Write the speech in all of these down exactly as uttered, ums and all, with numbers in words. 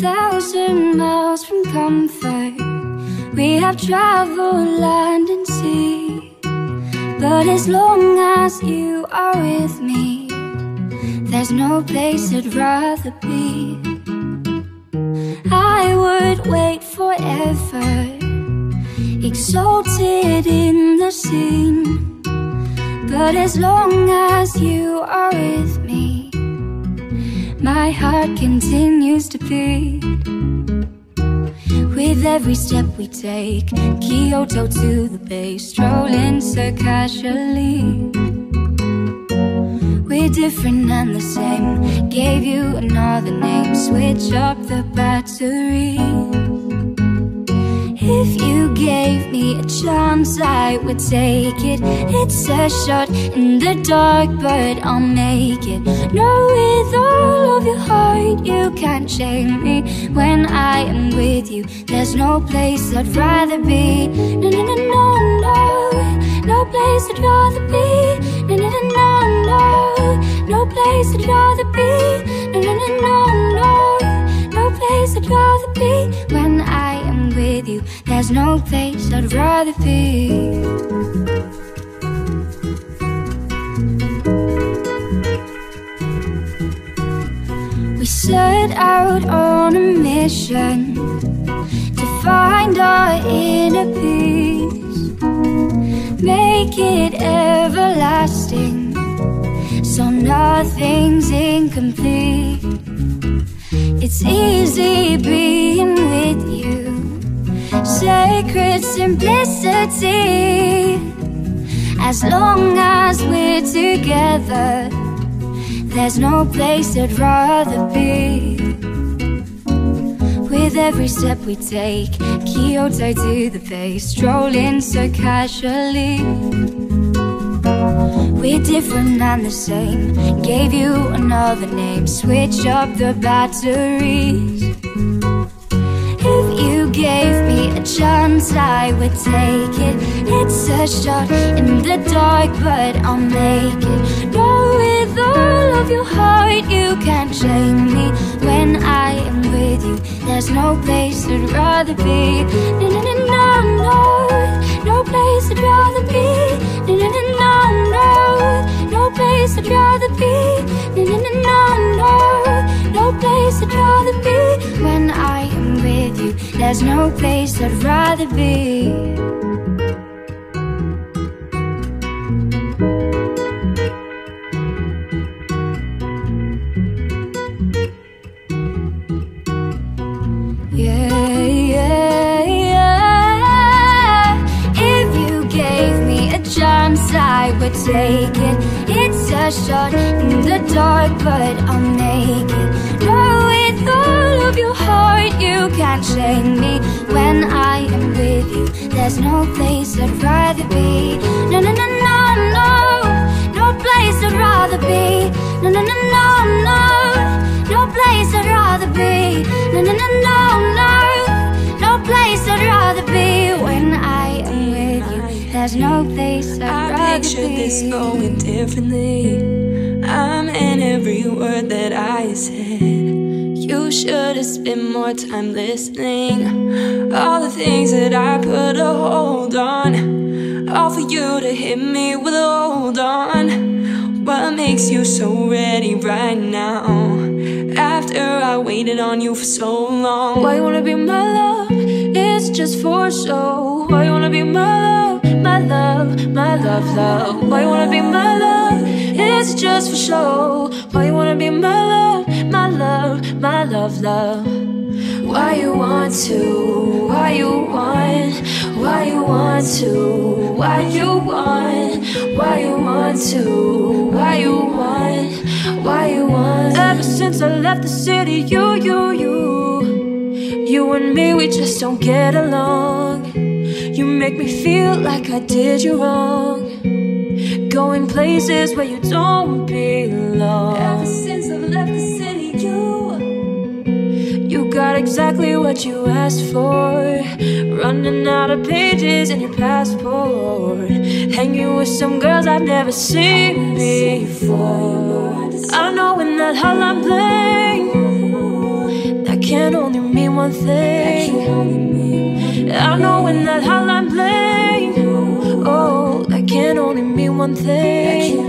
thousand miles from comfort. We have traveled land and sea, but as long as you are with me, there's no place I'd rather be. I would wait forever, exalted in the scene, but as long as you are with me, my heart continues to beat. With every step we take, Kyoto to the bay, strolling so casually. We're different and the same, gave you another name, switch up the battery. If you gave me a chance, I would take it. It's a shot in the dark, but I'll make it. Know with all of your heart you can't shame me. When I am with you, there's no place I'd rather be. No, no, no, no, no, no place I'd rather be. No, no, no, no, no, no place I'd rather be. No, no, no, no, no, no place I'd rather be. When I am with you, there's no place I'd rather be. We set out on a mission to find our inner peace, make it everlasting, so nothing's incomplete. It's easy being with you, sacred simplicity. As long as we're together, there's no place I'd rather be. With every step we take, Kyoto to the bay, strolling so casually. We're different and the same, gave you another name, switch up the batteries. If you gave me a chance, I would take it. It's a shot in the dark, but I'll make it. Know with all of your heart you can't shame me. When I am with you, there's no place I'd rather be. No, no, no, no, no, no place I'd rather be. No, no, no, no, no, no place I'd rather be. No, no, no, no, no, no place I'd rather be. When I am with you, there's no place I'd rather be. Yeah, yeah, yeah. If you gave me a chance, I would take it. It's a shot in the dark, but I'll make it. Know with all of your heart you can't shame me. When I am with you, there's no place I'd rather be. No, no, no, no, no, no place I'd rather be. No, no, no, no, no, no place I'd rather be. No, no, no, no, no, no place I'd rather be. When I am with you, there's no place I'd rather be. I picture this going differently. I'm in every word that I said. You should have spent more time listening. All the things that I put a hold on, all for you to hit me with a hold on. What makes you so ready right now, after I waited on you for so long? Why you wanna be my love? It's just for show. Why you wanna be my love? My love, my love, love. Why you wanna be my love? It's just for show. Why you wanna be my love? My love, my love, love. Why you want to? Why you want? Why you want to? Why you want? Why you want to? Why you want? Why you want? Ever since I left the city, you, you, you, you and me, we just don't get along. You make me feel like I did you wrong, going places where you don't belong. Ever since I left the city, you You got exactly what you asked for, running out of pages in your passport, hanging with some girls I've never seen before. I don't know when that hotline bling, that can only mean one thing. I know when that hotline bling, oh, that can only mean one thing.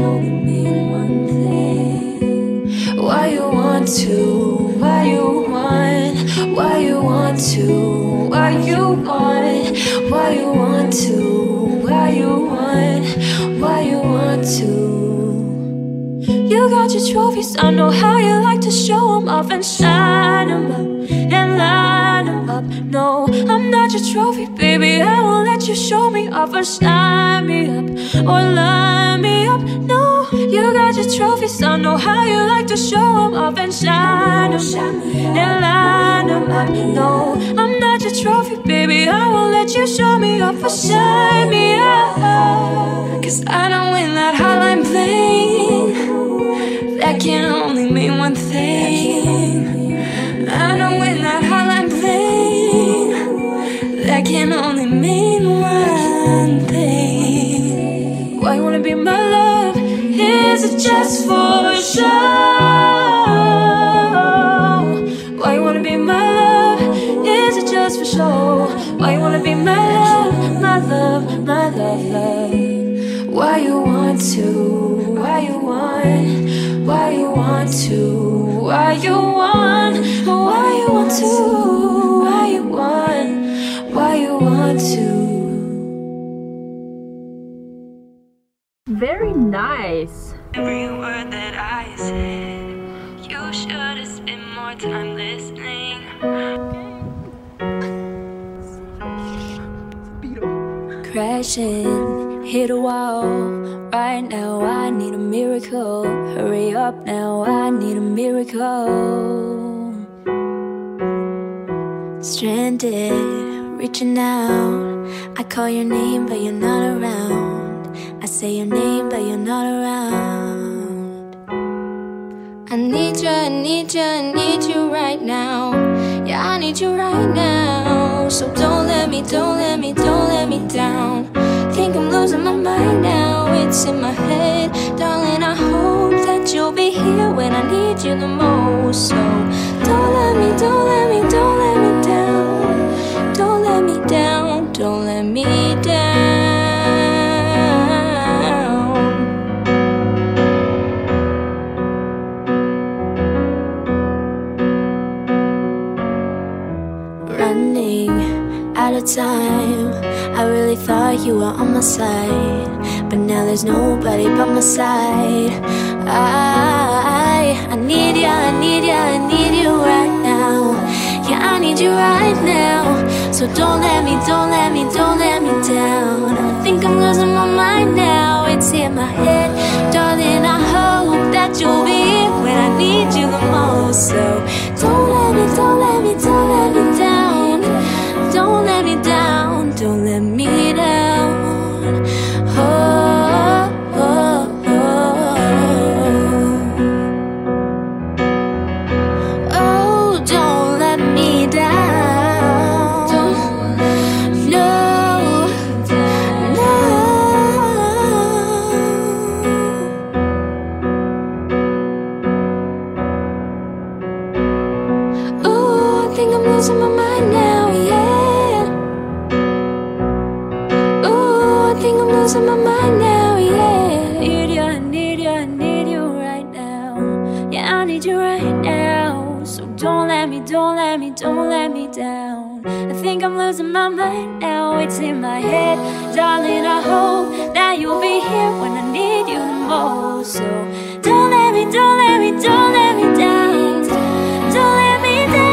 Why you want to, why you want, why you want to, why you want, why you want to, why you want, why you want to. You got your trophies, I know how you like to show them off and shine them up and line them up. No, I'm not your trophy, baby, I won't let you show me off and shine me up or line me up. No, you got your trophies, I know how you like to show them off and shine them and line them up. No, I'm not your trophy, baby, I won't let you show me off or shine me up. Cause I know when that hotline bling, that can only mean one thing. I know when that hotline bling, that can only mean one thing. Why you wanna be my love? Is it just for show? Why you wanna be my love? Is it just for show? Why you wanna be my love, my love, my love, love? Why you want to, why you want, why you want to, why you want, why you want to, why you want, why you want to. Very nice. Every word that I said, you should have spent more time listening. Crashing, hit a wall. Right now I need a miracle. Hurry up now, I need a miracle. Stranded, reaching out. I call your name but you're not around. I say your name but you're not around. I need you, I need you, I need you right now. Yeah, I need you right now. So don't let me, don't let me, don't let me down. Think I'm losing my mind now, it's in my head. Darling, I hope that you'll be here when I need you the most. So don't let me, don't let me, don't let me down. Don't let me down, don't let me down. Running out of time, I really thought you were on my side, but now there's nobody but my side. I, I need you, I need you, I need you right now. Yeah, I need you right now. So don't let me, don't let me, don't let me down. I think I'm losing my mind now, it's in my head. Darling, I hope that you'll be here when I need you the most. So don't let me, don't let me, don't let me down. Don't let me down, don't let me down. Oh, oh, oh. Oh, don't let me down. No, no. Oh, I think I'm losing my mind now, yeah. Losing my mind now, yeah. Need you, I need you, I need you right now. Yeah, I need you right now. So don't let me, don't let me, don't let me down. I think I'm losing my mind now, it's in my head. Darling, I hope that you'll be here when I need you the most. So don't let me, don't let me, don't let me down. Don't let me down.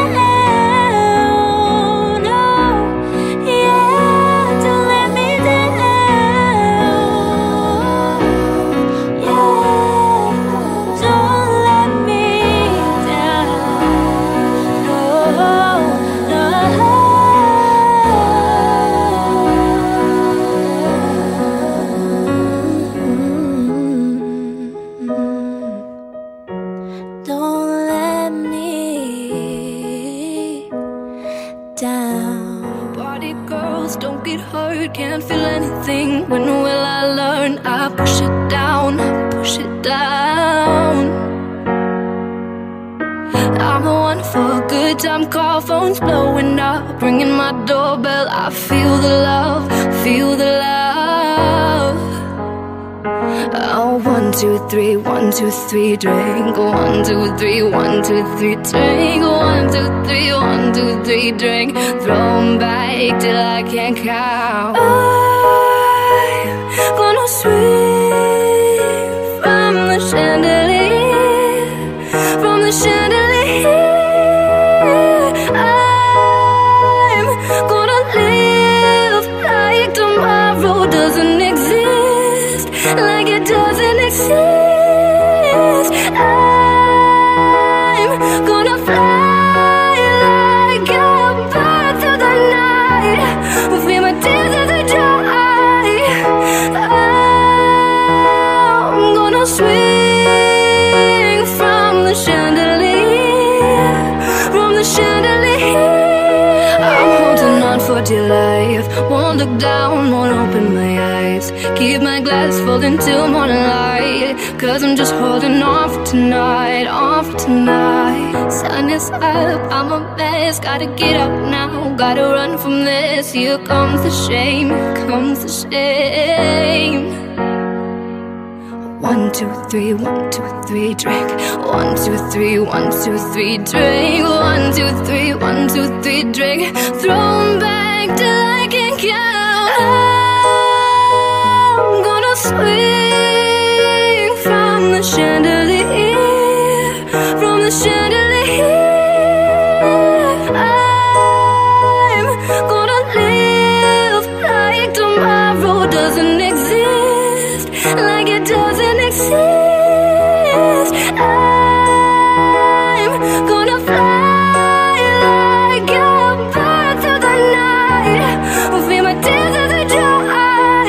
Can't feel anything. When will I learn? I push it down, push it down. I'm the one for good. good time call, phone's blowing up, ringing my doorbell. I feel the love, feel the love. Oh, one, two, three, one, two, three, drink. One, two, three, one, two, three, drink. One, two, three, one, two, three, drink. Throw 'em back till I can't count. I'm gonna swing from the chandelier, from the chandelier. I'm gonna live like tomorrow doesn't exist, like it doesn't exist. I'm gonna fly like a bird through the night, feel my tears as they dry. I'm gonna swing from the chandelier, from the chandelier. I'm holding on for dear life, won't look down, won't open my eyes. Keep my glass full until morning light, cause I'm just holding on for tonight, on for tonight. Sun is up, I'm a mess, gotta get up now, gotta run from this. Here comes the shame, here comes the shame. One, two, three, one, two, three, drink. One, two, three, one, two, three, drink. One, two, three, one, two, three, drink. Throw 'em back till I can count. I'm gonna swing from the chandelier, from the chandelier. I'm gonna live like tomorrow doesn't exist, like it doesn't exist. I'm gonna fly like a bird through the night, feel my tears as they dry.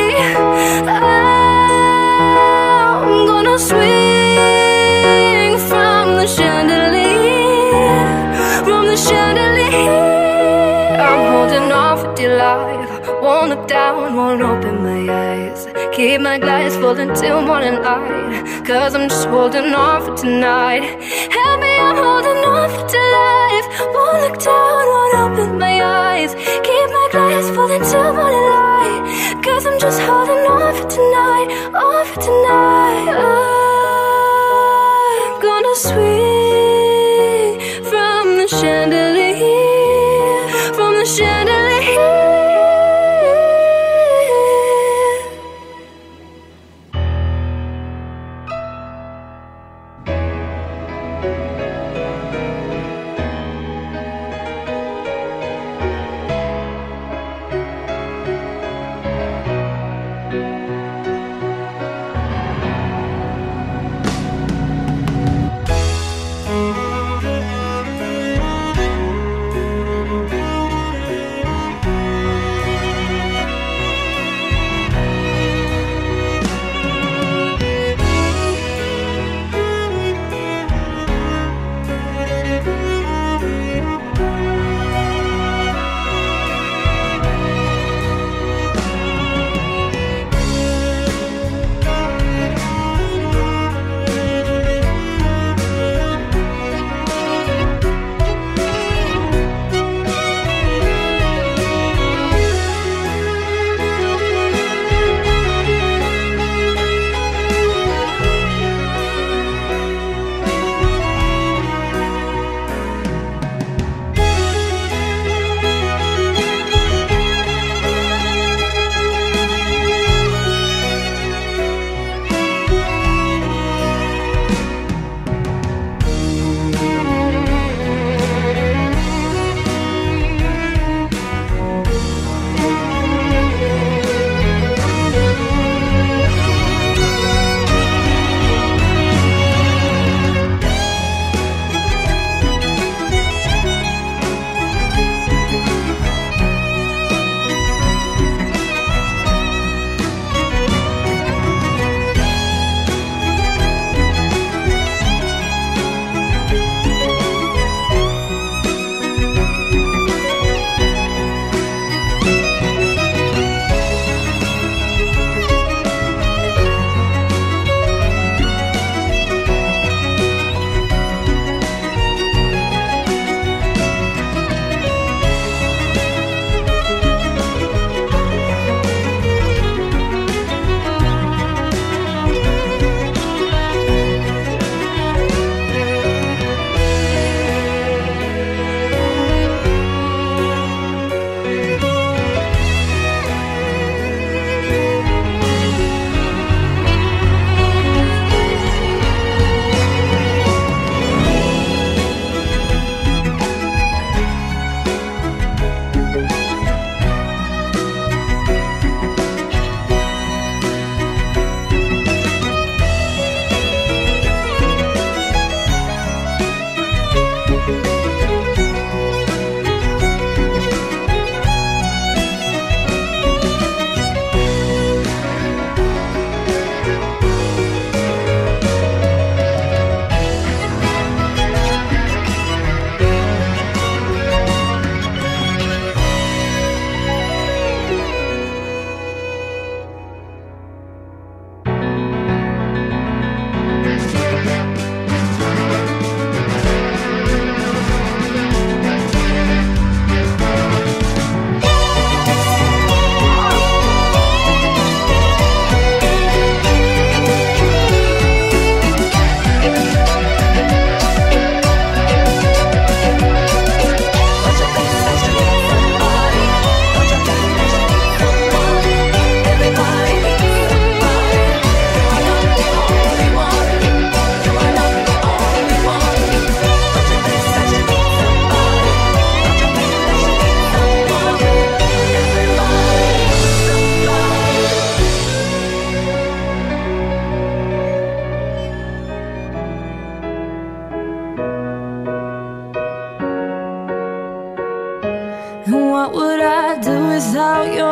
I'm gonna swing from the chandelier, from the chandelier. I'm holding on for dear life, won't look down, won't open my eyes. Keep my glass full until morning light, cause I'm just holding on for tonight. Help me, I'm holding on for dear life, won't look down, won't open my eyes. Keep my glass full until morning light, cause I'm just holding on for tonight, on for tonight. I'm gonna swing from the chandelier, from the chandelier.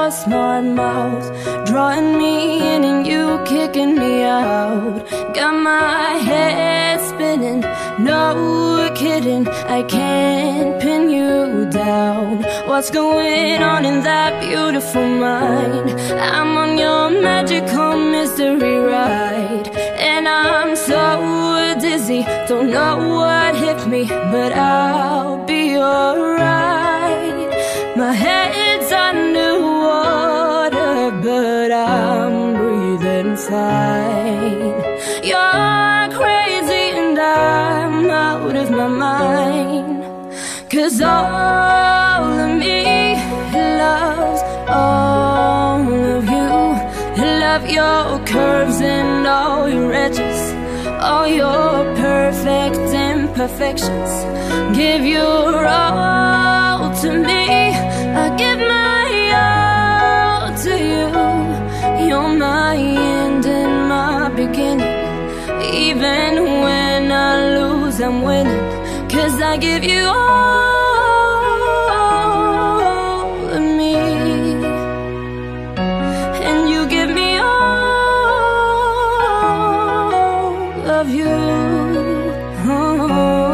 your smart mouth, drawing me in and you kicking me out. Got my head spinning, no kidding, I can't pin you down. What's going on in that beautiful mind? I'm on your magical mystery ride, and I'm so dizzy, don't know what hit me, but I'll be alright. My head's underwater, but I'm breathing fine. You're crazy and I'm out of my mind, 'cause all of me loves all of you. Love your curves and all your edges, all your perfect imperfections. Give your all to me, I give my all to you. You're my end and my beginning. Even when I lose, I'm winning, 'cause I give you all of me, and you give me all of you. Oh.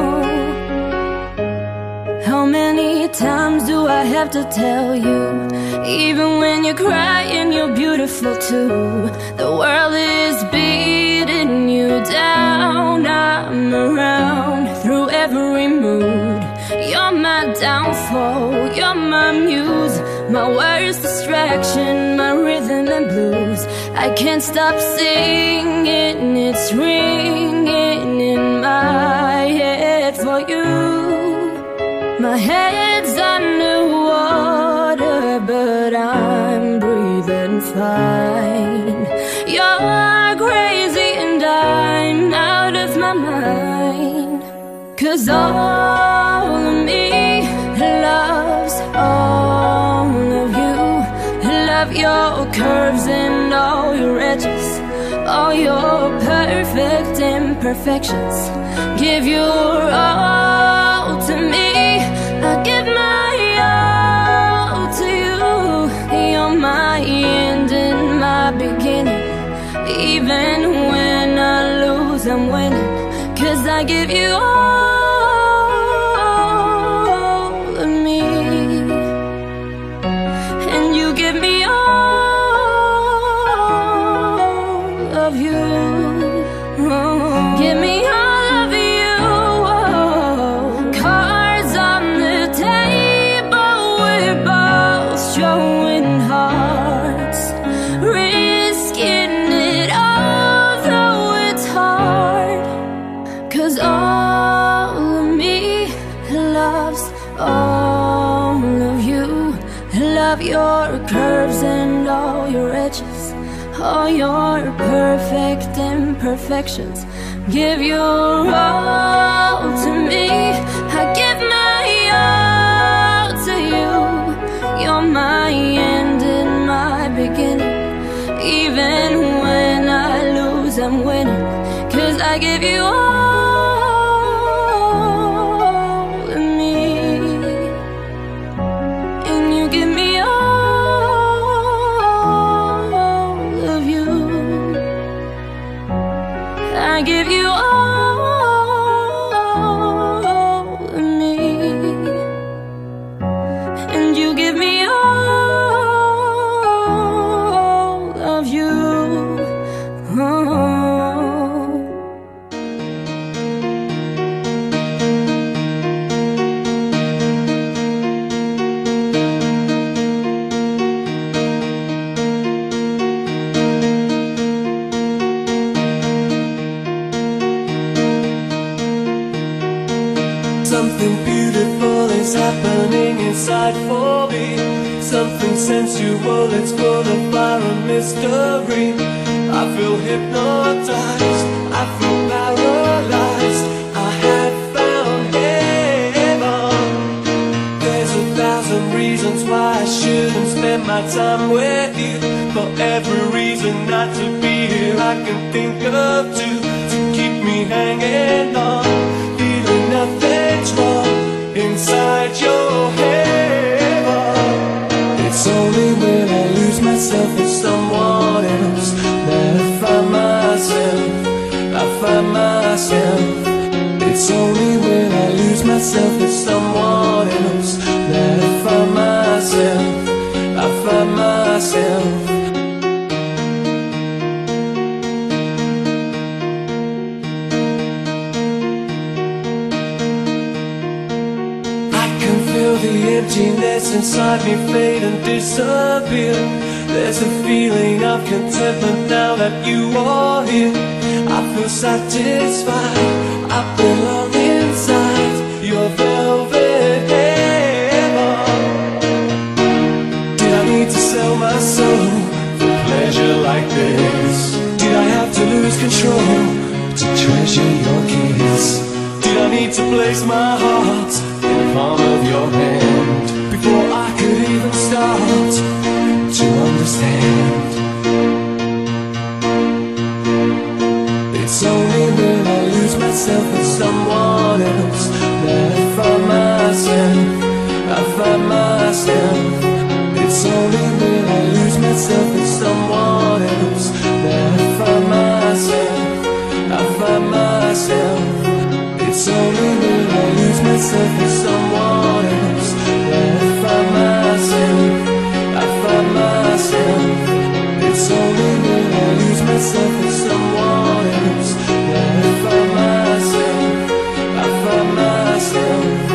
How many times do I have to tell you? Even when you're crying, you're beautiful too. The world is beating you down. I'm around through every mood. You're my downfall, you're my muse, my worst distraction, my rhythm and blues. I can't stop singing, it's ringing in my head for you. My head's underwater, but I'm breathing fine. You're crazy and I'm out of my mind, 'cause all of me loves all of you. Love your curves and all your edges, all your perfect imperfections. Give your all to me, I give my all to you. You're my end and my beginning. Even when I lose, I'm winning, 'cause I give you all of me, and you give me all of you. Oh, give me all of you. Oh, cards on the table, we're both showing hearts, risking it all, though it's hard. 'Cause all of me loves all of you. Love your curves and all your edges, all your perfect imperfections. Give your all to me, I give my all to you. You're my end and my beginning. Even when I lose, I'm winning, 'cause I give you all of me, and you give me all of you. I give you all of me, and you give me all of you. Oh. Something beautiful is happening inside for me. Something sensual, it's full of fire and mystery. I feel hypnotized, I feel paralyzed. I have found heaven. There's a thousand reasons why I shouldn't spend my time with you. For every reason not to be here, I can think of two to keep me hanging on. Feeling nothing's wrong inside your head. It's only when I It's only when I lose myself with someone else that I find myself, I find myself. I can feel the emptiness inside me fade and disappear. There's a feeling of contentment now that you are here. I feel satisfied, I belong inside your velvet heaven. Did I need to sell my soul for pleasure like this? Did I have to lose control to treasure your kiss? Did I need to place my heart in the palm of your hand before I could even start to understand? It's only when I lose myself with someone else that I find myself, I find myself. It's only when I lose myself with someone else that I find myself, I find myself. It's only when I lose myself with someone else that I find myself, I find myself. It's only when I lose myself with someone else that I find myself, I find myself.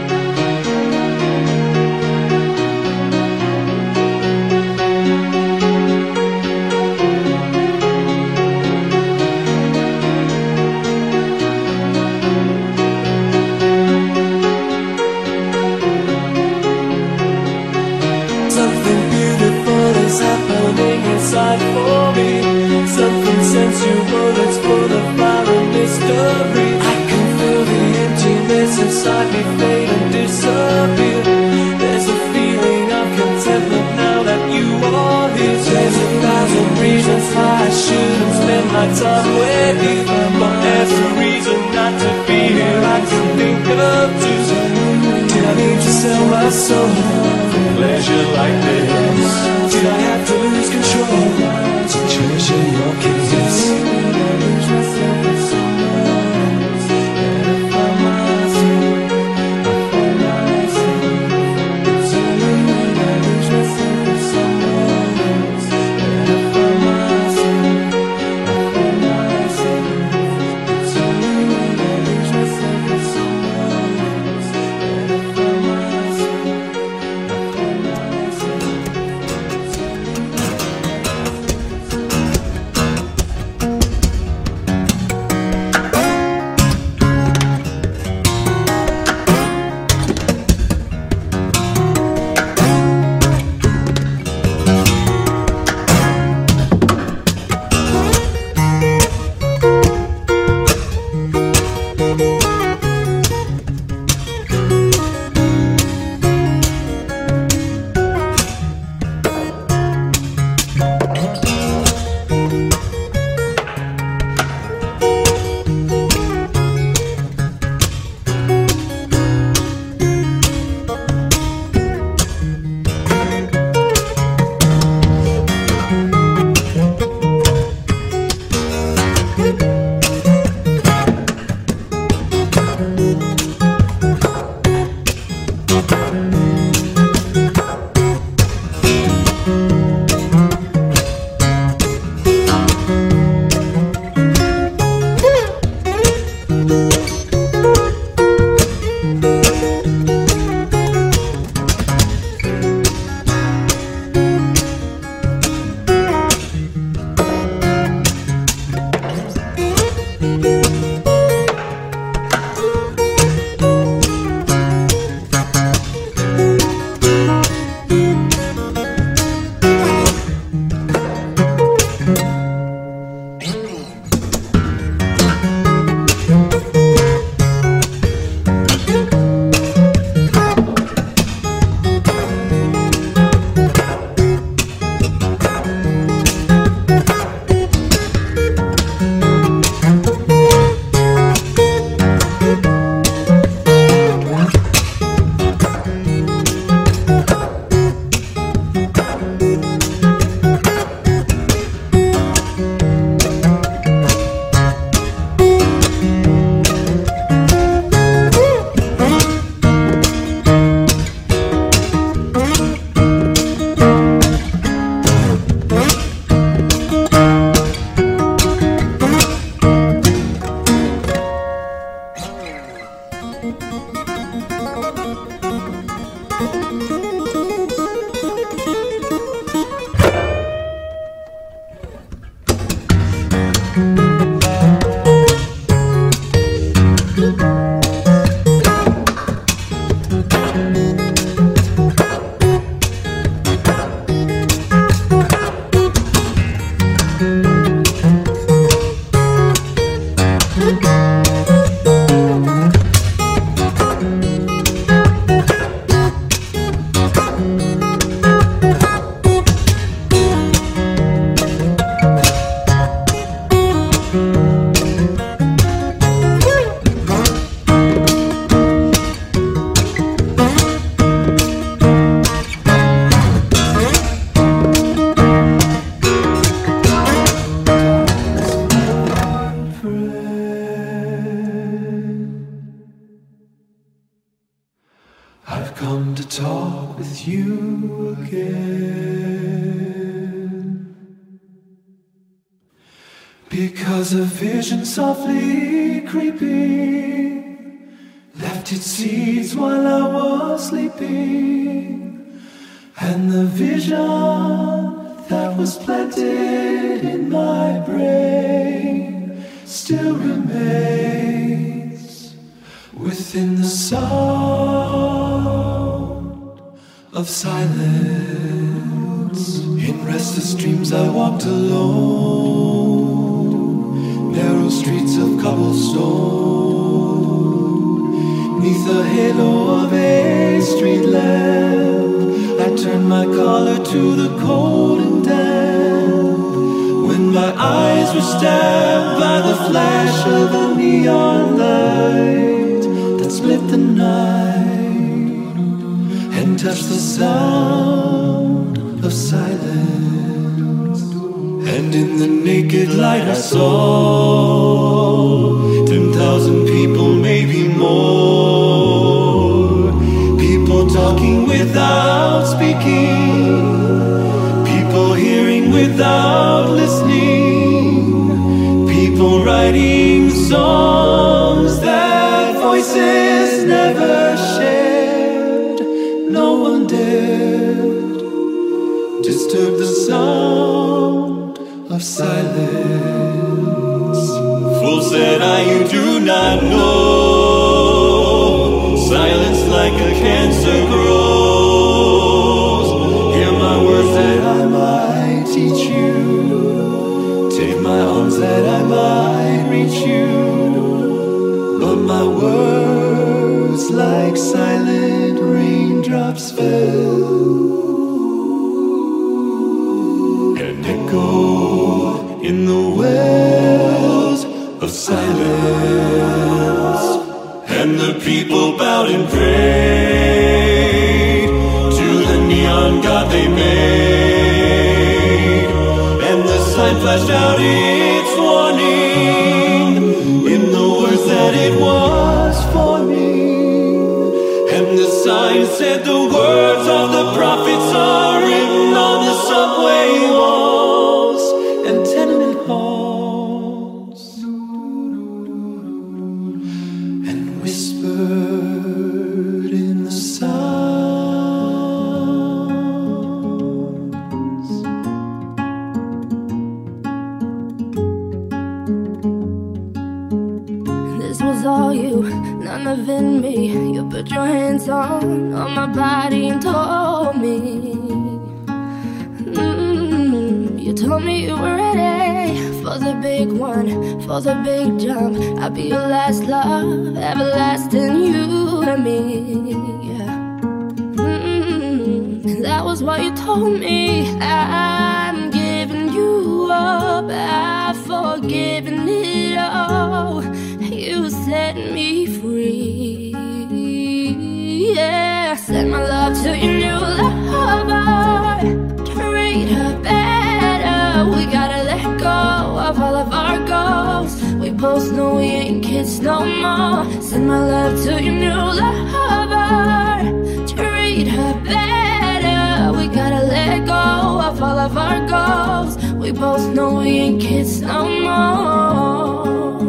Something beautiful is happening inside for me. Something sensual that's full of fire and mystery. I can feel the emptiness inside me fade and disappear. There's a feeling of contentment now that you are here. There's a thousand reasons why I shouldn't spend my time with you, but there's a reason not to be here I can think of too. Did I need to sell my soul for pleasure like this? Did I have to lose control to treasure your kiss? Did I lose myself with someone else that I find myself, I find myself. It's only when I lose myself with someone else that I find myself, I find myself. It's only when I lose myself with someone else that I find myself, I find myself. talk with you again. Because a vision softly creeping left its seeds while I was sleeping, and the vision that was planted in my brain still remains within the sound of silence. In restless dreams I walked alone, narrow streets of cobblestone, neath the halo of a street lamp. I turned my collar to the cold and damp, when my eyes were stabbed by the flash of a neon light that split the night and touched the sound of silence. And in the naked light I saw ten thousand people, maybe more, people talking without speaking, people hearing without listening, people writing songs that voices never shared. No one dared disturb the sound of silence. Fool, said I, you do not know, silence like a cancer grows. Hear my words that I might teach you, take my arms that I might reach you, but my words like silent raindrops fell and echoed in the wells of silence. And the people bowed and prayed to the neon god they made, and the sign flashed out its warning in the words that it was forming. And the sign said the words of the prophets are written on the subway walls and tenement halls, and whispered in the sounds. This was all you, none of it me. You put your hands on, on my body and told me, mm, you told me you were ready for the big one, for the big jump. I'll be your last love, everlasting, you and me, yeah. Mm, that was what you told me. I'm giving you up, I've forgiven it all. You set me free, yeah. Send my love to your new lover, treat her better. We gotta let go of all of our goals. We both know we ain't kids no more. Send my love to your new lover, treat her better. We gotta let go of all of our goals. We both know we ain't kids no more.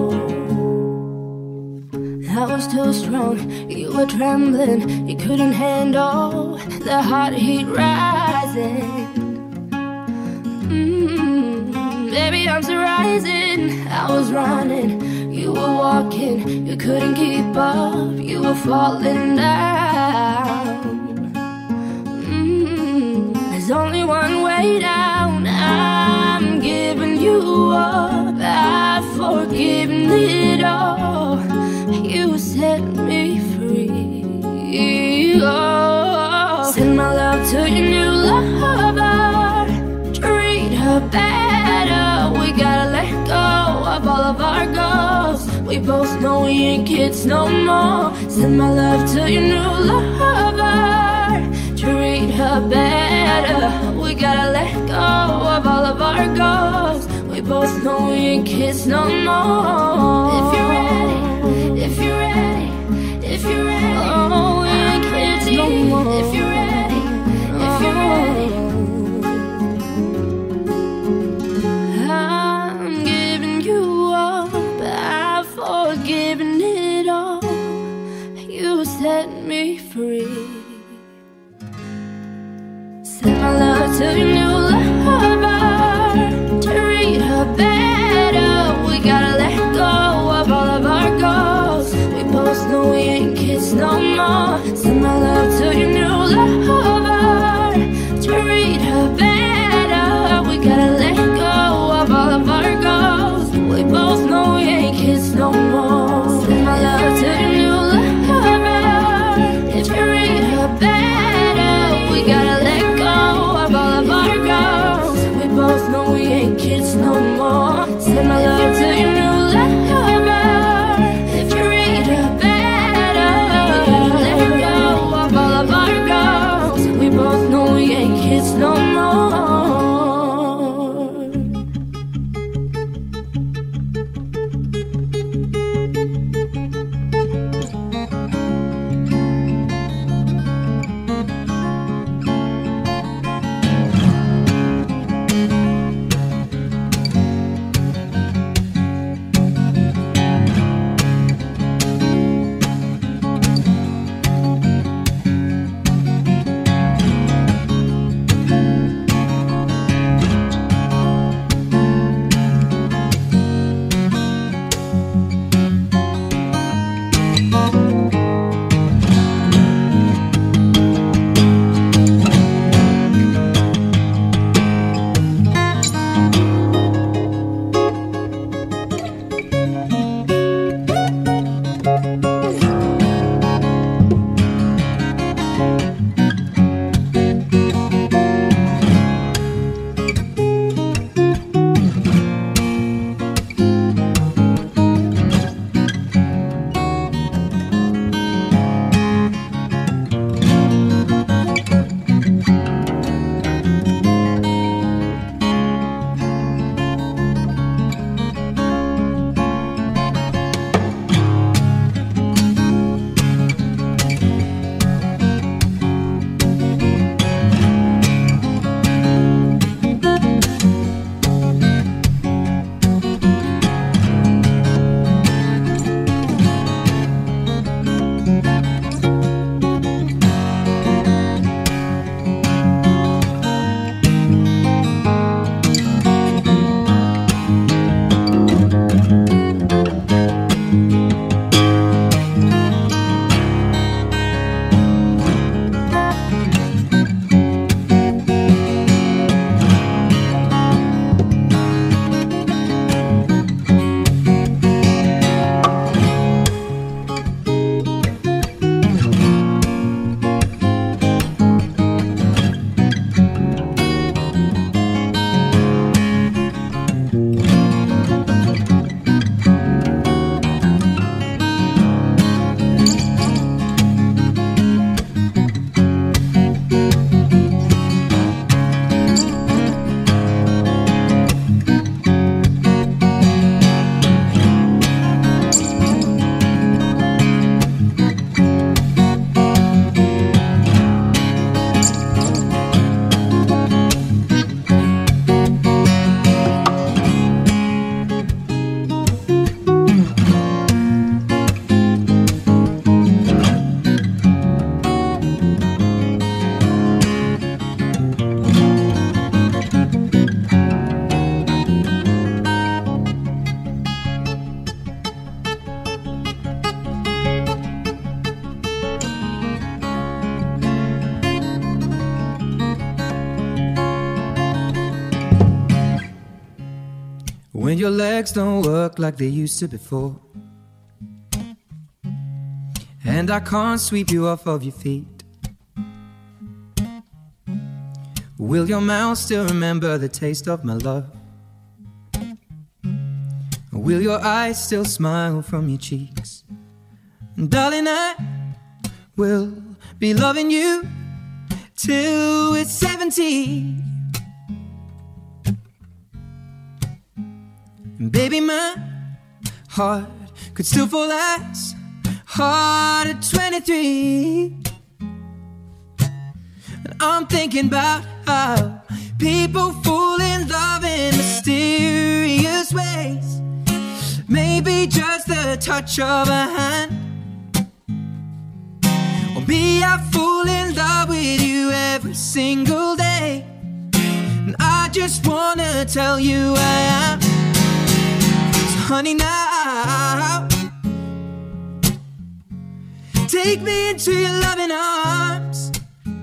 I was too strong, you were trembling, you couldn't handle the hot heat rising. Mm, baby, I'm still rising. I was running, you were walking, you couldn't keep up, you were falling down. Mm, there's only one way down. I'm giving you up, I've forgiven it all. You set me free, oh. Send my love to your new lover, treat her better. We gotta let go of all of our goals. We both know we ain't kids no more. Send my love to your new lover, treat her better. We gotta let go of all of our goals. We both know we ain't kids no more. If you're ready, if you're ready, if you're ready, oh, we ain't kids no no more. If you're ready, if you're ready. I'm giving you up, I've forgiven it all. You set me free. Send my love to your new lover, to read her better. We gotta let go of all of our goals. We both know we ain't kids no more. Send my love to your new lover, to read her better. We gotta let go of all of our goals. We both know we ain't kids no more. Send my love to your new lover, if you read her better. We gotta let go of all of our goals. We both know we ain't kids no more. Send my love to your new lover, if you read her better. We gotta let go of all of our goals. We both know we ain't kids no more. When your legs don't work like they used to before, and I can't sweep you off of your feet, will your mouth still remember the taste of my love? Will your eyes still smile from your cheeks? And darling, I will be loving you till we're seventy. And baby, my heart could still fall as hard at twenty-three. I'm thinking about how people fall in love in mysterious ways. Maybe just the touch of a hand. Or me, I fall in love with you every single day. And I just wanna tell you I am. So honey, now take me into your loving arms.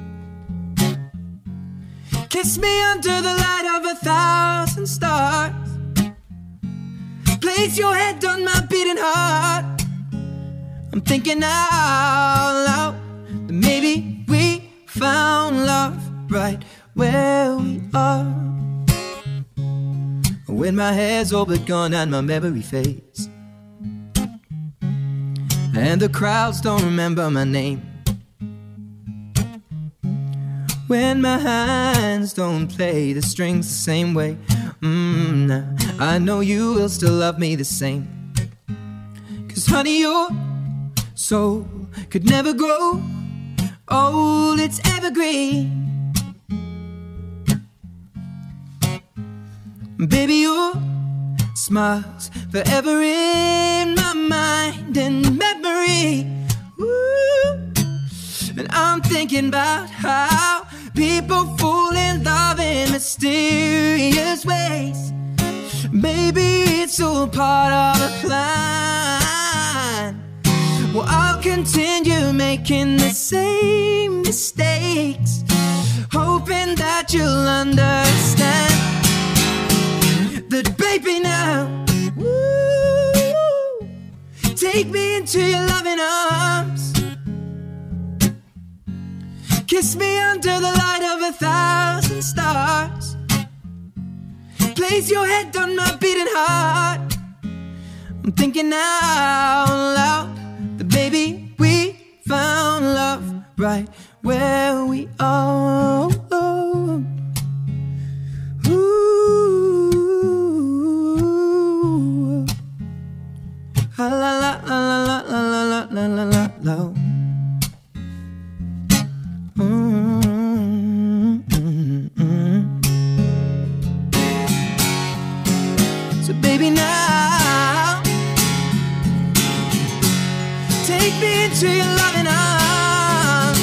Kiss me under the light of a thousand stars. Place your head on my beating heart. I'm thinking out loud that maybe we found love right where we are. When my hair's all but gone and my memory fades, and the crowds don't remember my name, when my hands don't play the strings the same way, mm, nah, I know you will still love me the same. Cause honey, your soul could never grow old, it's evergreen. Baby, your smile's forever in my mind and memory. Ooh. And I'm thinking about how people fall in love in mysterious ways. Maybe it's all part of a plan. Well, I'll continue making the same mistakes, hoping that you'll understand that, baby, now, woo, take me into your loving arms. Kiss me under the light of a thousand stars. Place your head on my beating heart. I'm thinking out loud that, baby, we found love right where we are. Ooh. La la la la la la la la la la la. So baby, now take me into your loving arms.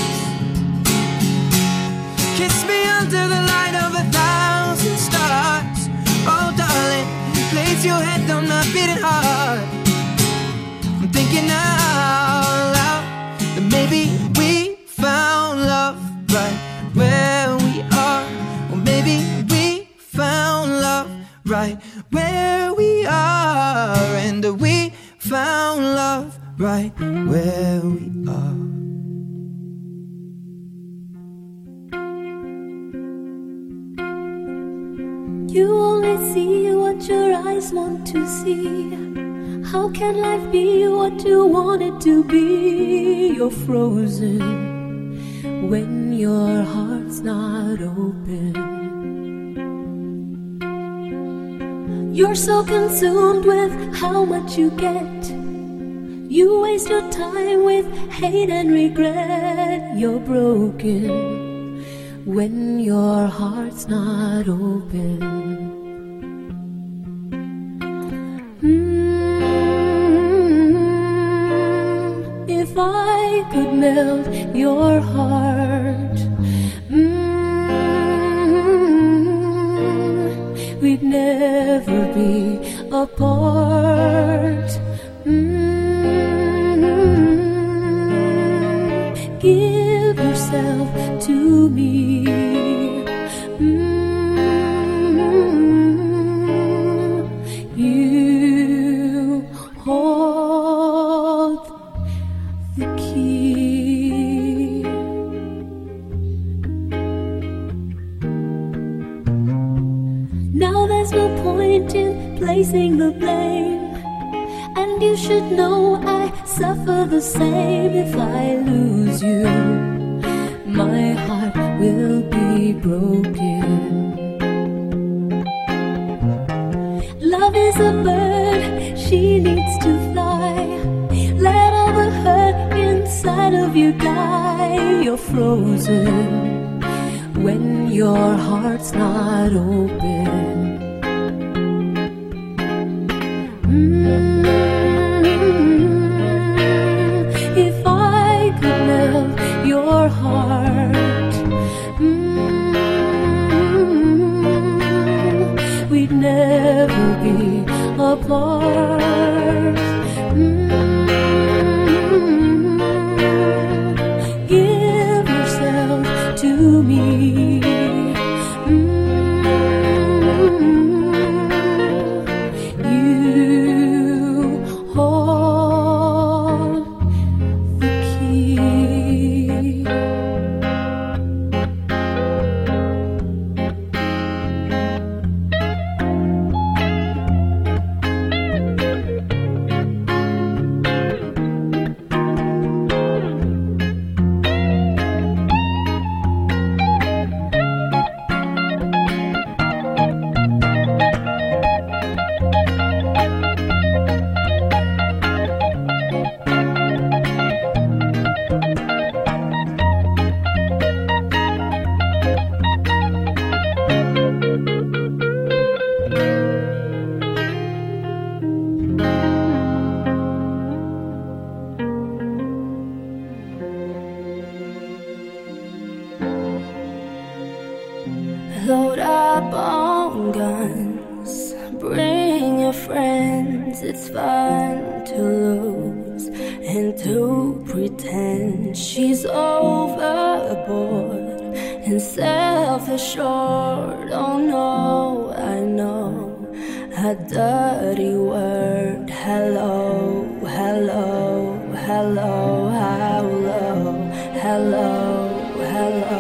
Kiss me under the light of a thousand stars. Oh darling, place your head on my beating heart. I'm thinking out loud that maybe we found love right where we are. Or maybe we found love right where we are. And we found love right where we are. You only see what your eyes want to see. How can life be what you want it to be? You're frozen when your heart's not open. You're so consumed with how much you get. You waste your time with hate and regret. You're broken when your heart's not open. Mm, if I could melt your heart, mm, we'd never be apart. Mm, give yourself to me. Mm, you hold the key. Now there's no point in placing the blame, and you should know I suffer the same. If I lose you, my heart will be broken. Love is a bird, she needs to fly. Let all the hurt inside of you die. You're frozen when your heart's not open. Mm-hmm. If I could melt your heart, mm-hmm, we'd never be apart. Mm-hmm. Give yourself to me. Load up on guns, bring your friends. It's fun to lose and to pretend she's overboard and self-assured. Oh no, I know a dirty word. Hello, hello, hello, hello, hello, hello.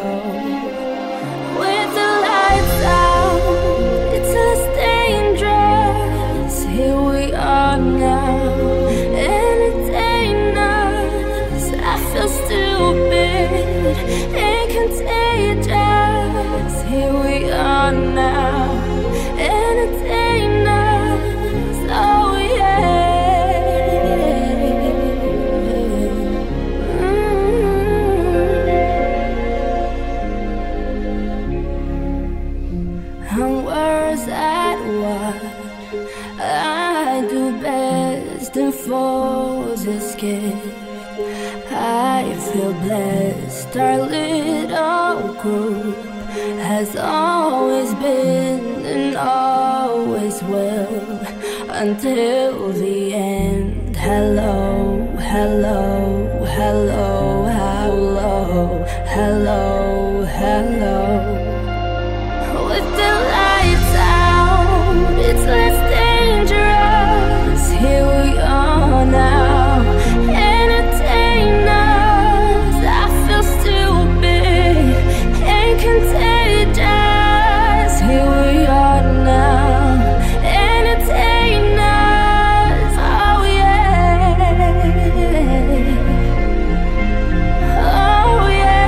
It's less dangerous. Here we are now, entertain us. I feel stupid and contagious. Here we are now, entertain us. Oh And worse at what I do best and foes escape. I feel blessed. Our little group has always been and always will until the end. Hello, hello, hello, hello, hello, hello. with the lights out, it's less dangerous. Here we are now, entertain us. I feel stupid and contagious. Here we are now, entertain us. Oh yeah, oh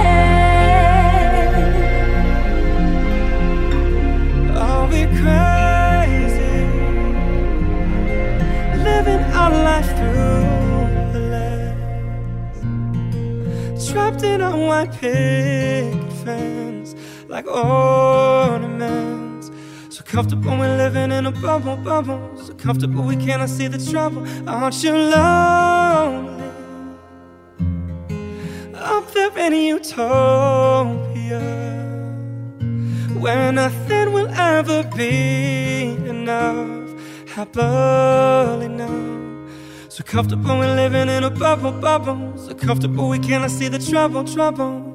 yeah. Are we crazy, living our life through the lens, trapped in our white picket fence like ornaments? So comfortable we're living in a bubble, bubble. So comfortable we cannot see the trouble. Aren't you lonely up there in utopia, where nothing will ever be enough, happily numb? So comfortable we're living in a bubble, bubble. So comfortable we cannot see the trouble, trouble.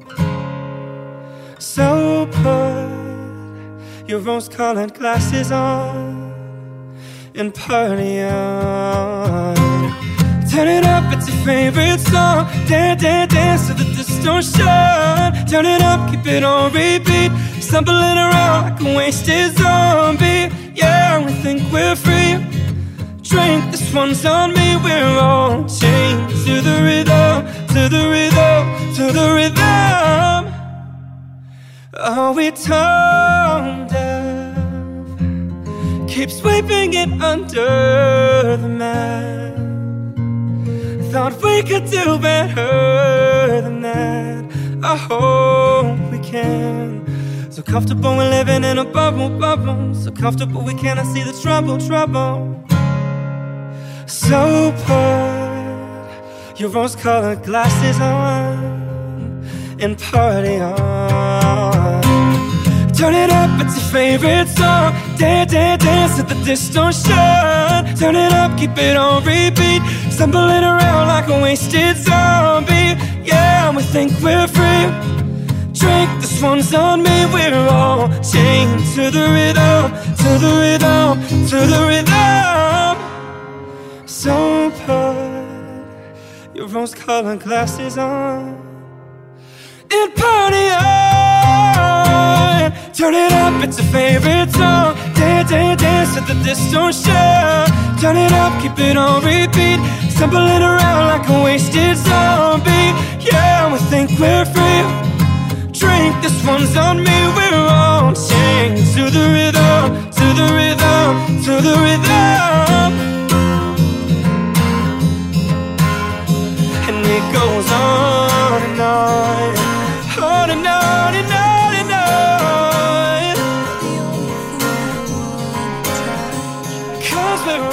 So put your rose-colored glasses on and party on. Turn it up, it's your favorite song. Dance, dance, dance to the distortion. Turn it up, keep it on repeat. Stumbling around like a wasted zombie. Yeah, we think we're free. Drink, this one's on me. We're all chained to the rhythm, to the rhythm, to the rhythm. Are we tone deaf? Keep sweeping it under the mat. Thought we could do better than that. I hope we can. So comfortable we're living in a bubble, bubble. So comfortable we cannot see the trouble, trouble. So put your rose-colored glasses on and party on. Turn it up, it's your favorite song. Dance, dance, dance to the distortion. Turn it up, keep it on repeat. Stumbling around like a wasted zombie. Yeah, we think we're free. Drink, this one's on me. We're all chained to the rhythm, to the rhythm, to the rhythm. So put your rose-colored glasses on and party on. Turn it up, it's a favorite song. Dance, dance, dance to the distortion. Turn it up, keep it on repeat. Stumbling around like a wasted zombie. Yeah, we think we're free. Drink, this one's on me. We're all chained to the rhythm, to the rhythm, to the rhythm. And it goes on and on, on and on and on and on. Cause we're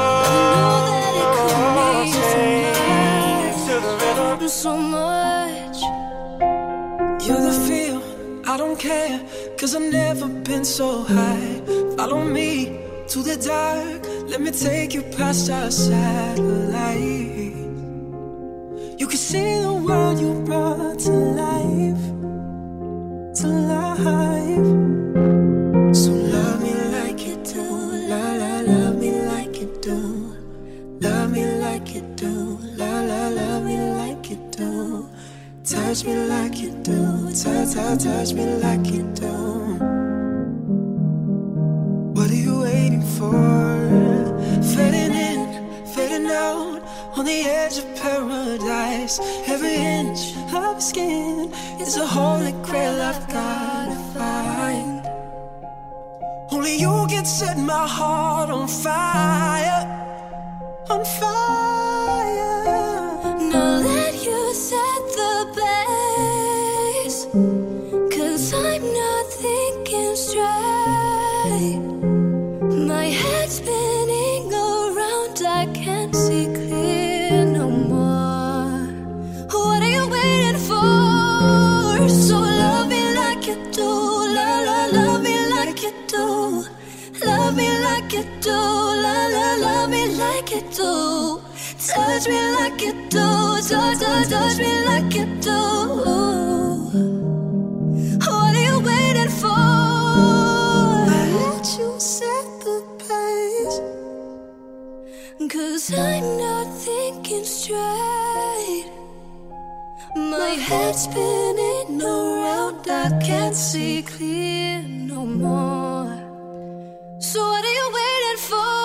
all chained to the rhythm. So much. You're the feel, I don't care, cause I've never been so high. Follow me to the dark, let me take you past our satellite. You can see the world you brought to life, to life. So love me like you do, la la, love me like you do. Love me like you do, la la, love me like you do. Touch me like you do, touch, touch, touch me like you do. What are you waiting for? Fading in, fading out, on the edge of paradise. Every inch of skin is a holy grail I've gotta find. Only you can set my heart on fire, on fire. Now let you set the pace, cause I'm not thinking straight. My head's spinning around, I can't see clear no more. What are you waiting for? So love me like you do, la la, love me like you do. Love me like you do, la la, love me like you do. Touch me like you do, touch, touch, touch me like you do. What are you waiting for? I let you set the pace, Cause I'm not thinking straight. My head's spinning around, I can't see clear no more. So what are you waiting for?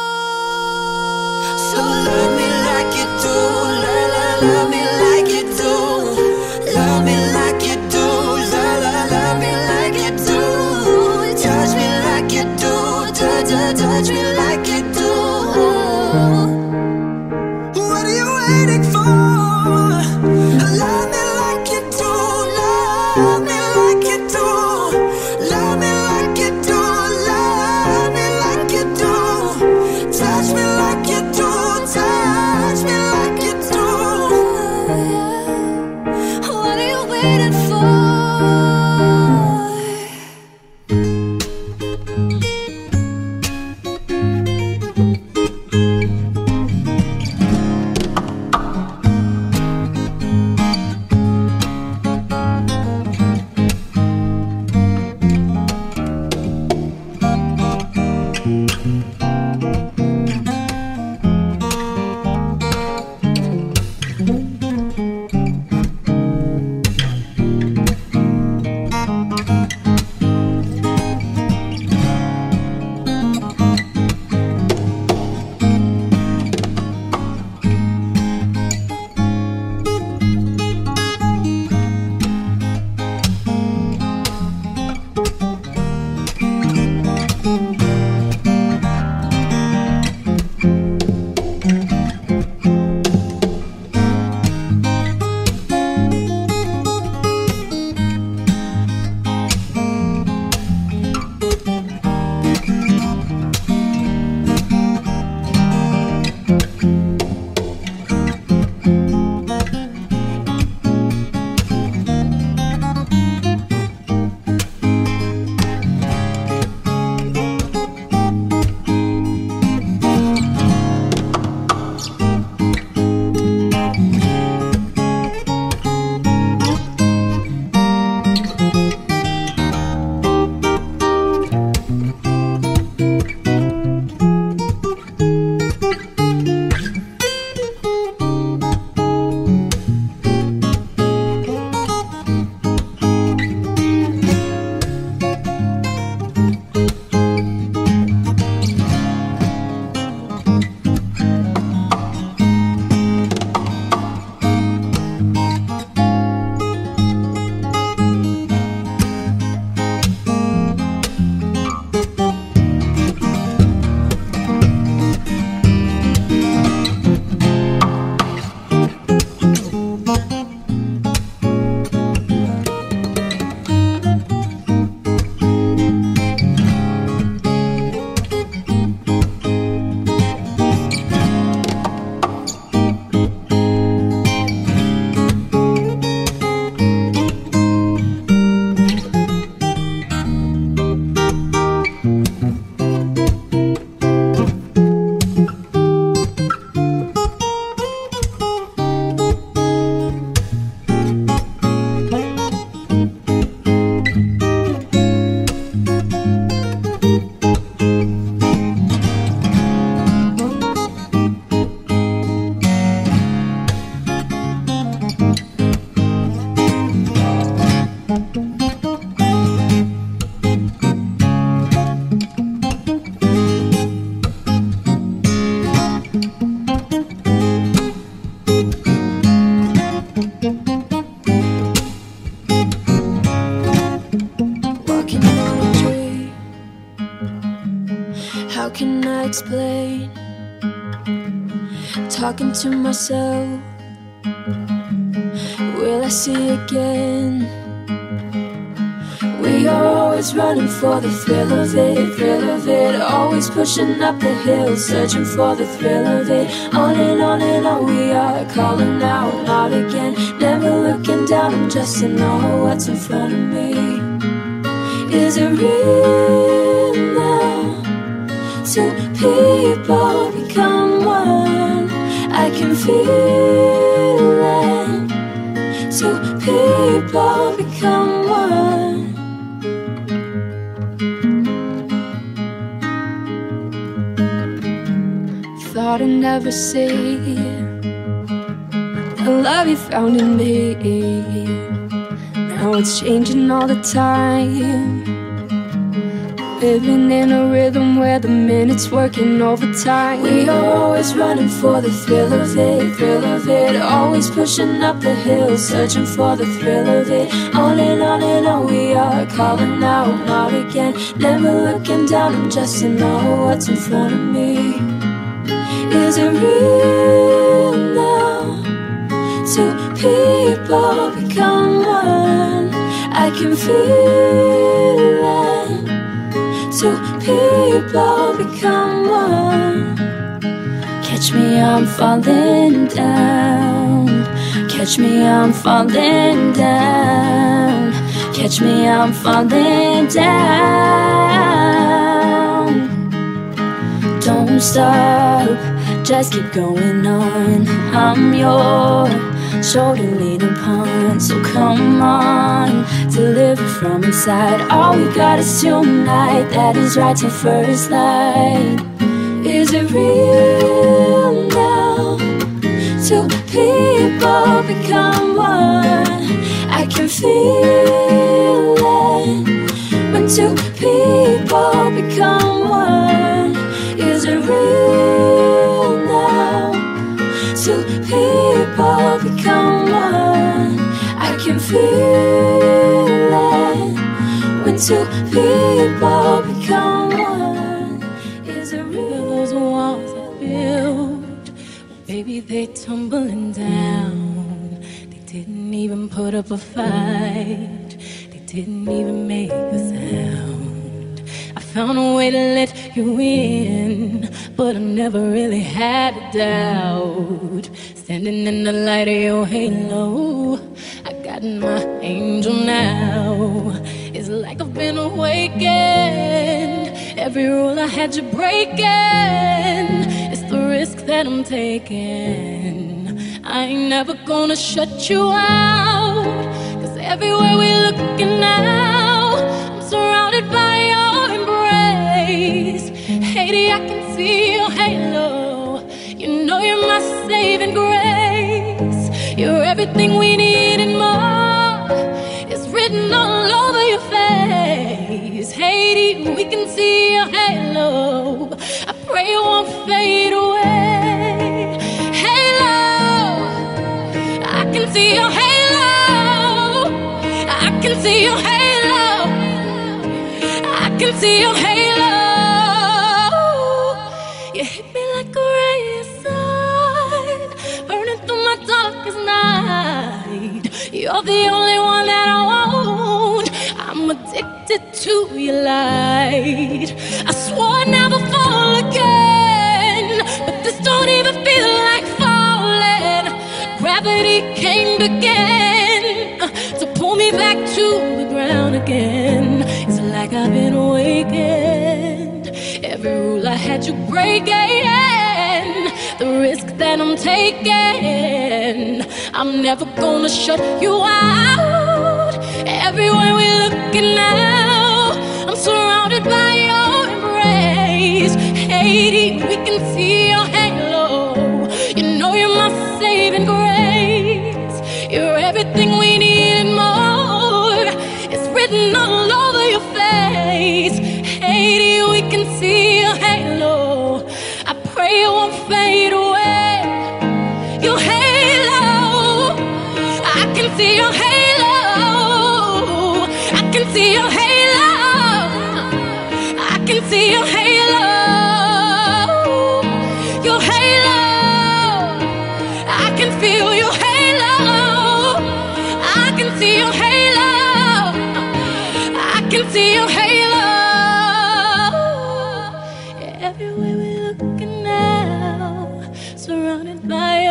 so love me like you do, la la, love me like you do. Love me like you do, la la, love me like you do. Touch me like you do, touch, touch, touch me like you do. What are you waiting for? Love me like you do, love me like you do. Love me like you do, love me like talking to myself. Will I see again? We are always running for the thrill of it, thrill of it. Always pushing up the hill, searching for the thrill of it. On and on and on we are, calling out, out again. Never looking down, I'm just to know what's in front of me. Is it real now? Two people become one. I can feel it. Two people become one. Thought I'd never see the love you found in me. Now it's changing all the time. Living in a rhythm where the minutes working overtime. We are always running for the thrill of it, thrill of it. Always pushing up the hill, searching for the thrill of it. On and on and on we are, calling out, out again. Never looking down, I'm just to know what's in front of me. Is it real now? Two people become one. I can feel it. Two people become one. Catch me, I'm falling down. Catch me, I'm falling down. Catch me, I'm falling down. Don't stop, just keep going on. I'm your shoulder lean upon, so come on, deliver from inside. All we got is tonight, that is right to first light. Is it real now? Two people become one. I can feel it when two people become one. Is it real now? Two people become one. I can feel it when two people become one. Is it real? Those walls I built, baby, they tumbling down. They didn't even put up a fight. They didn't even make a sound. I found a way to let you in, but I never really had a doubt. Standing in the light of your halo, I got my angel now. It's like I've been awakened. Every rule I had you breaking. It's the risk that I'm taking. I ain't never gonna shut you out, 'cause everywhere we looking now, I'm surrounded by your embrace. Haiti, I can see your halo. You know you're my saving grace. You're everything we need and more. It's written all over your face. Haiti, we can see your halo. I pray it won't fade away. Halo, I can see your halo. I can see your halo. I can see your halo. You hit me like a ray of sun, burning through my darkest night. You're the only one that I want. I'm addicted to your light. I swore I'd never fall again, but this don't even feel like falling. Gravity came again to pull me back to the ground again. It's like I've been awakened. Every rule I had you breaking, the risk that I'm taking. I'm never gonna shut you out. Everywhere we're looking now, I'm surrounded by your embrace. Haiti, we can see your halo. You know you're my saving grace. You're everything we need and more. It's written all over your face. Haiti, we can see your halo. I pray it won't fade away. Your halo, I can see your halo. I can see your halo. I can see your halo. Your halo.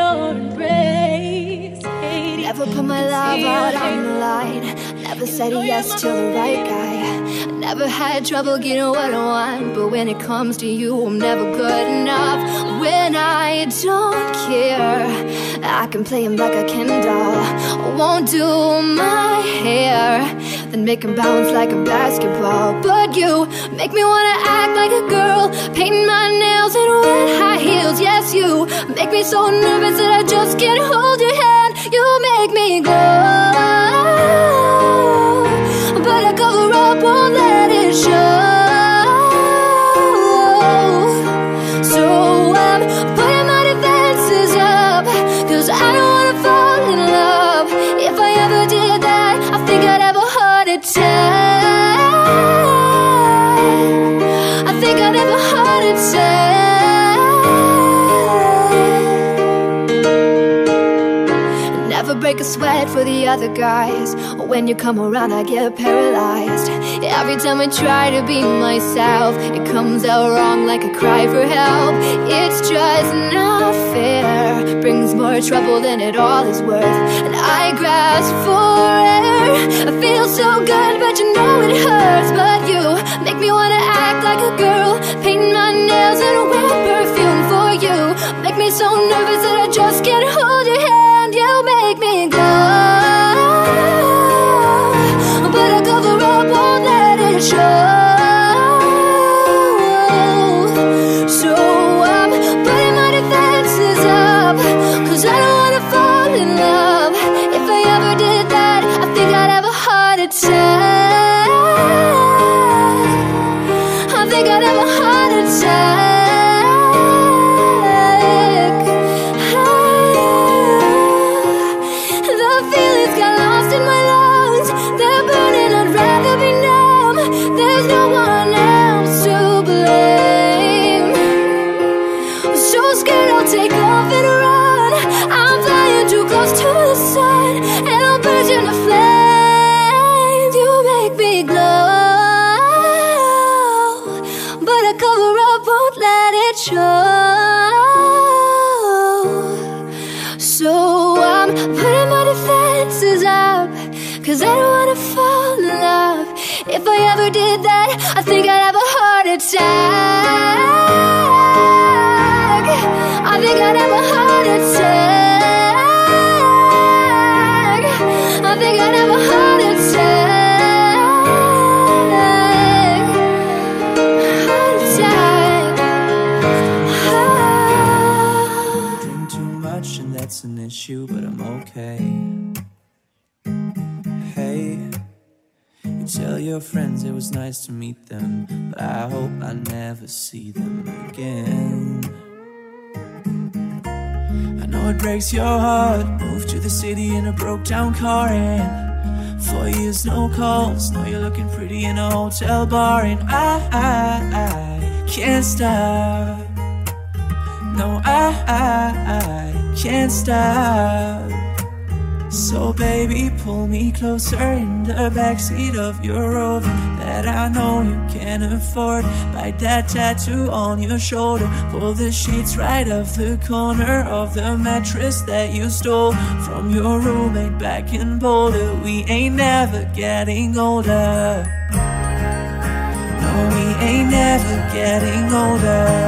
your embrace. Never put my love out on the line. Never said yes to the right guy. Never had trouble getting what I want, but when it comes to you, I'm never good enough. When I don't care, I can play him like a Ken doll. Won't do my hair, then make him bounce like a basketball. But you make me wanna act like a girl, painting my nails in wet high heels. Yes, you make me so nervous that I just can't hold your hand. You make me glow, but I cover up, won't let it show. So I'm putting my defenses up, cause I don't wanna fall in love. If I ever did that, I think I'd have a heart attack. I think I'd have a heart attack. Never break a sweat for the other guys. When you come around, I get paralyzed. Every time I try to be myself, it comes out wrong like a cry for help. It's just not fair, brings more trouble than it all is worth. And I grasp for air. I feel so good, but you know it hurts. But you make me wanna act like a girl, painting my nails and wear perfume for you. Make me so nervous that I just can't hold your hand. You make me go, but I cover up, won't let it show. So I'm putting my defenses up, cause I don't wanna fall in love. If I ever did that, I think I'd have a heart attack. I think I'd have a heart attack. Cause I don't wanna fall in love. If I ever did that, I think I'd have a heart attack. I think I'd have a heart attack. I think I'd have a heart attack. Heart attack. I drink too much and that's an issue, but I'm okay. Tell your friends it was nice to meet them, but I hope I never see them again. I know it breaks your heart. Moved to the city in a broke down car and four years no calls. Now you're looking pretty in a hotel bar, and I, I, I can't stop. No, I, I, I can't stop. So baby, pull me closer in the backseat of your Rover that I know you can't afford. Bite that tattoo on your shoulder. Pull the sheets right off the corner of the mattress that you stole from your roommate back in Boulder. We ain't never getting older. No, we ain't never getting older.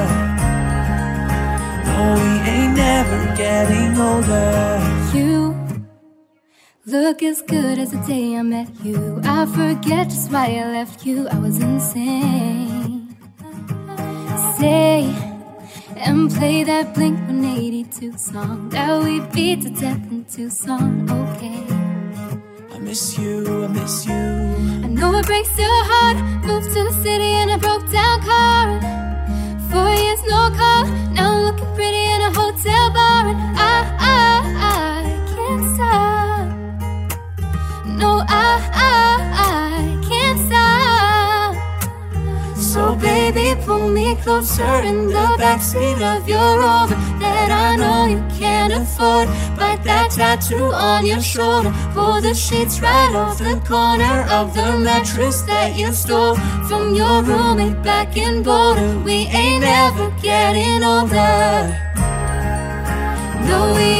No, we ain't never getting older. You look as good as the day I met you. I forget just why I left you. I was insane. Stay and play that Blink one eighty-two song that we beat to death in Tucson. Okay. I miss you, I miss you. I know it breaks your heart. Moved to the city in a broke down car. Four years no call. Now I'm looking pretty in a hotel bar, and I, I, I can't stop. No, I, I, I can't stop. So baby, pull me closer in the backseat of your Rover that I know you can't afford. Bite that tattoo on your shoulder. Pull the sheets right off the corner of the mattress that you stole from your roommate back in Boulder. We ain't ever getting older. No, we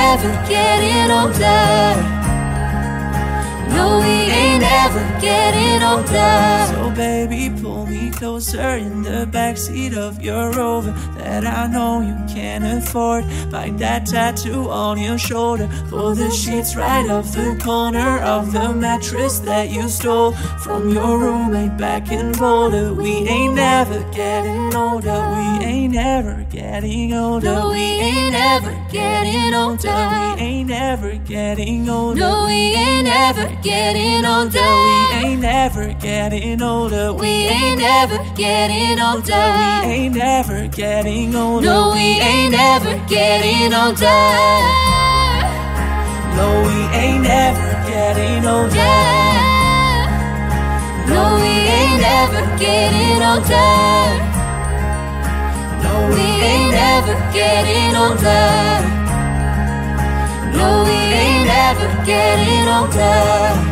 ever getting older. No, we ain't ever getting older. So baby, pull me closer in the backseat of your Rover that I know you can't afford. Bite that tattoo on your shoulder. Pull the sheets right off the corner of the mattress that you stole from your roommate back in Boulder. We ain't never getting older. We ain't ever getting older. No, we ain't ever getting older. We ain't ever getting older. No, we ain't ever getting older. We ain't ever getting older. We ain't ever getting older. We ain't ever getting older. No, we ain't ever getting older. No, we ain't ever getting older. No, we ain't ever getting older. No, We ain't ever getting older. No, we ain't ever getting older.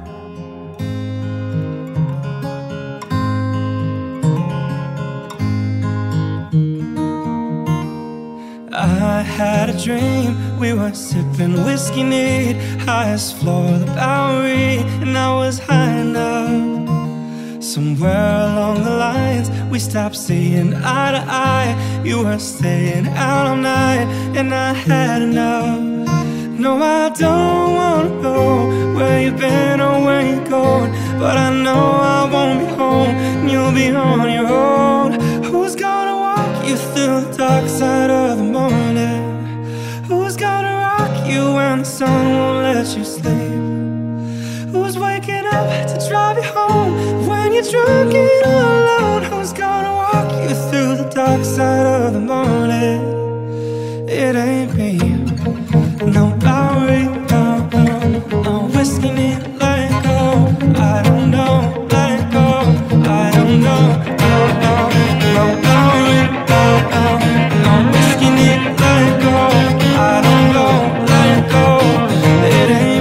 I had a dream, we were sipping whiskey neat, highest floor of the Bowery, and I was high enough. Somewhere along the lines, we stopped seeing eye to eye. You were staying out all night, and I had enough. No, I don't wanna know where you've been or where you're going, but I know I won't be home, and you'll be on your own. Who's gonna walk you through the dark side of the morning? Who's gonna rock you when the sun won't let you sleep? Who's waking up to drive you home when you're drunk and all alone? Who's gonna walk you through the dark side of the morning? It ain't me. No Bowery, no, no, no whiskey neat, let go. I don't know, let go. I don't know, no, no, no Bowery, no, no, no whiskey neat, let go. I don't know, let go. It ain't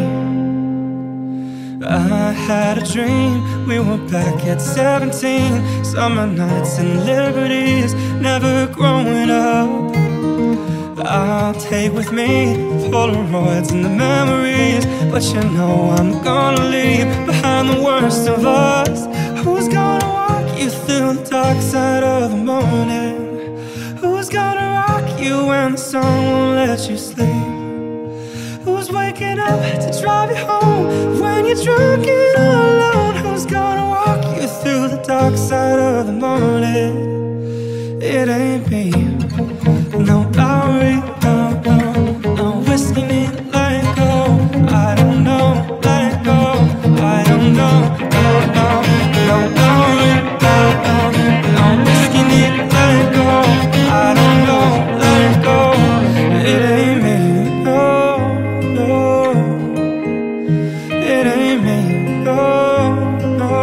me. I had a dream, we were back at seventeen. Summer nights and liberties, never growing up. I'll take with me Polaroids and the memories, but you know I'm gonna leave behind the worst of us. Who's gonna walk you through the dark side of the morning? Who's gonna rock you when the sun won't let you sleep? Who's waking up to drive you home when you're drunk and all alone? Who's gonna walk you through the dark side of the morning? It ain't me. No Bowery, no, no, no whiskey neat, let go. I don't know, let go. I don't know, no, no, no Bowery, no, no, no whiskey neat, let go. I don't know, let go. It ain't me, no, no. It ain't me, no,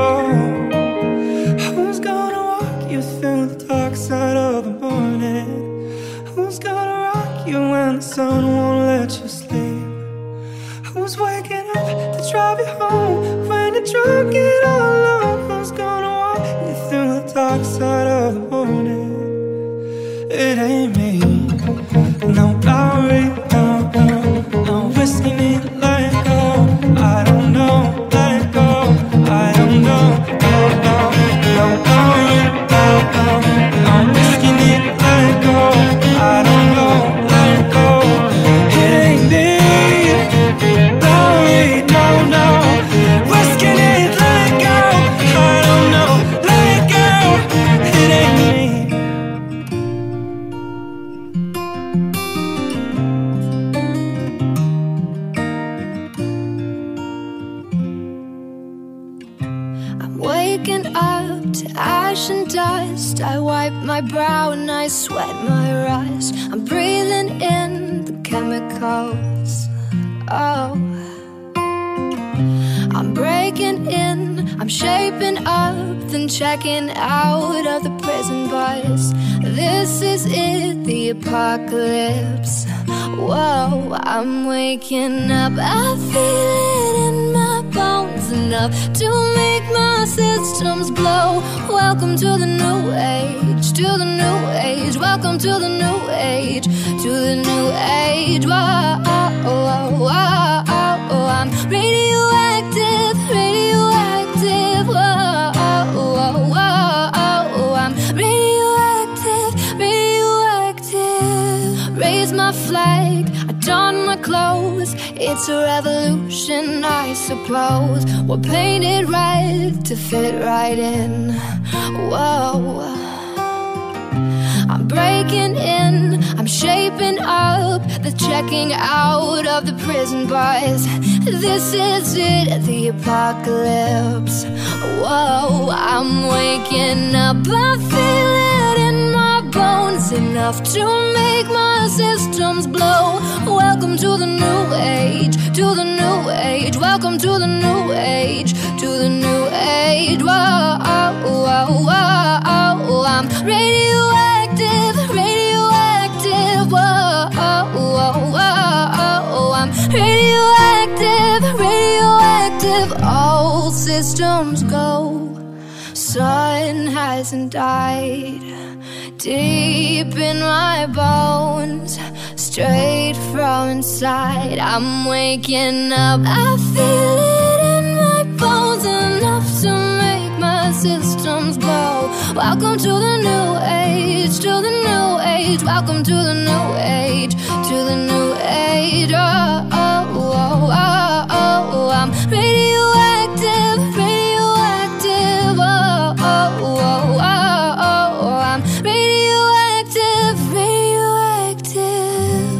no. Who's gonna walk you through the dark side of the morning? Who's gonna rock you when the sun won't let you sleep? Who's waking up to drive you home when you're drunk and all alone? Who's gonna walk you through the dark side of the morning? It ain't me. No Bowery, no, no, no whiskey neat, let go. I don't know, let go. I don't know, no, no, no Bowery, no, no, no whiskey neat, let go. I don't know, let go. It ain't me. Bowery, no, no whiskey neat, let go. I don't know, let go. It ain't me. I'm waking up to ash and dust. I wipe my brow and I sweat my rust. I'm breathing in the chemicals. Oh, I'm breaking in, I'm shaping up, then checking out of the prison bus. This is it, the apocalypse. Whoa, I'm waking up, I feel it in my bones enough to make my systems blow. Welcome to the new age, to the new age. Welcome to the new age, to the new age. age. Whoa, whoa, whoa, whoa. I'm radioactive, radioactive. Whoa, whoa, whoa. I'm radioactive, radioactive. Raise my flag, I don my clothes. It's a revolution, I suppose. We're painted right to fit right in. Whoa, I'm breaking in, I'm shaping up, the checking out of the prison bars. This is it, the apocalypse. Whoa, I'm waking up, I feel it in my bones, enough to make my systems blow. Welcome to the new age, to the new age. Welcome to the new age, to the new age. Whoa, whoa, whoa, I'm radioactive, radioactive. Whoa, whoa, whoa, I'm radioactive, radioactive. All systems go. Sun hasn't died. Deep in my bones, straight from inside, I'm waking up. I feel it in my bones, enough to make my systems glow. Welcome to the new age, to the new age. Welcome to the new age, to the new age. Oh, oh, oh, oh, oh. I'm radioactive, radioactive. Oh, oh, oh, oh, oh. I'm radioactive, radioactive.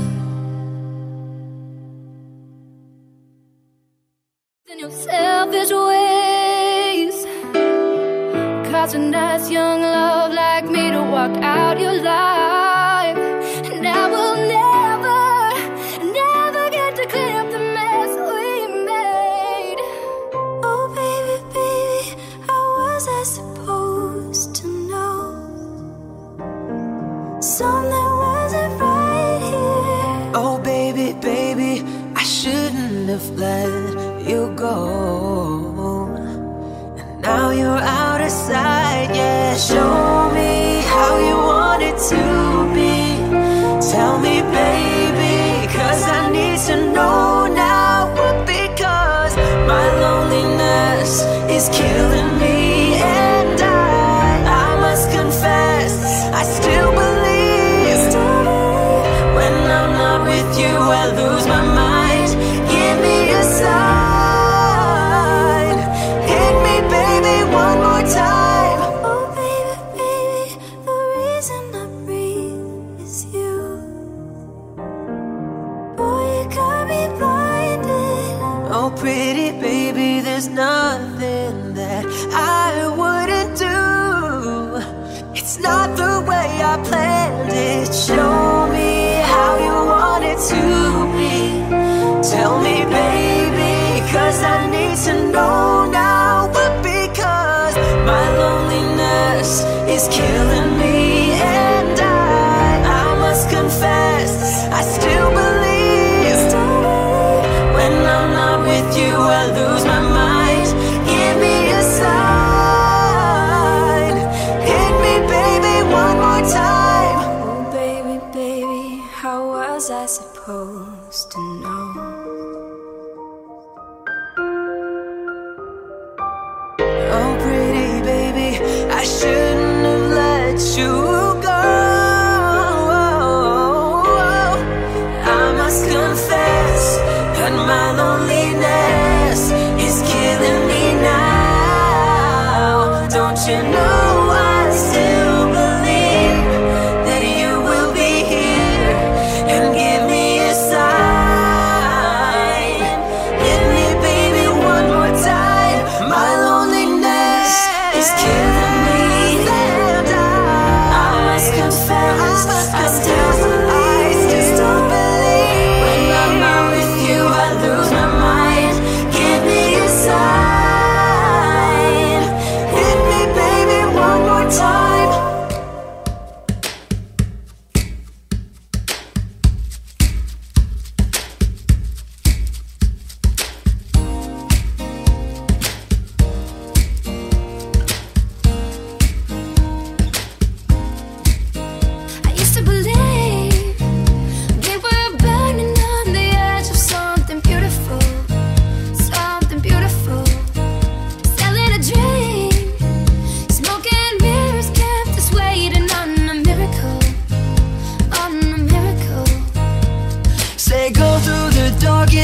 In your selfish ways, causing us young love like me to walk out your life. And I will never, never get to clean up the mess we made. Oh baby, baby, how was I supposed to know something wasn't right here? Oh baby, baby, I shouldn't have let you go. And now you're out of sight, yeah. Show me how you want it to be. Tell me, baby, cause I need to know now. Because my loneliness is killing me. And I, I must confess, I still believe. When I'm not with you, I lose my mind. Give me a sign. Hit me, baby, one more time. Oh baby, baby, the reason I breathe is you. Boy, you got me blinded. Oh pretty baby, there's nothing that I wouldn't do. It's not the way I planned it. Show me how you want it to be. Tell me, baby, cause I need to know now. But because my loneliness is killing me. And I, I must confess, I still believe. When I'm not with you, I lose my mind. Give me a sign. Hit me, baby, one more time. Oh baby, baby, how was I supposed to know? Oh pretty baby, I shouldn't have let you go. I must confess that my loneliness is killing me now. Don't you know I still believe that you will be here and give me a sign. Hit me, baby, one more time. My loneliness is killing me. And I, I must confess, I still believe, still believe. When I'm not with you, I lose my mind. Give me a sign. Hit me, baby,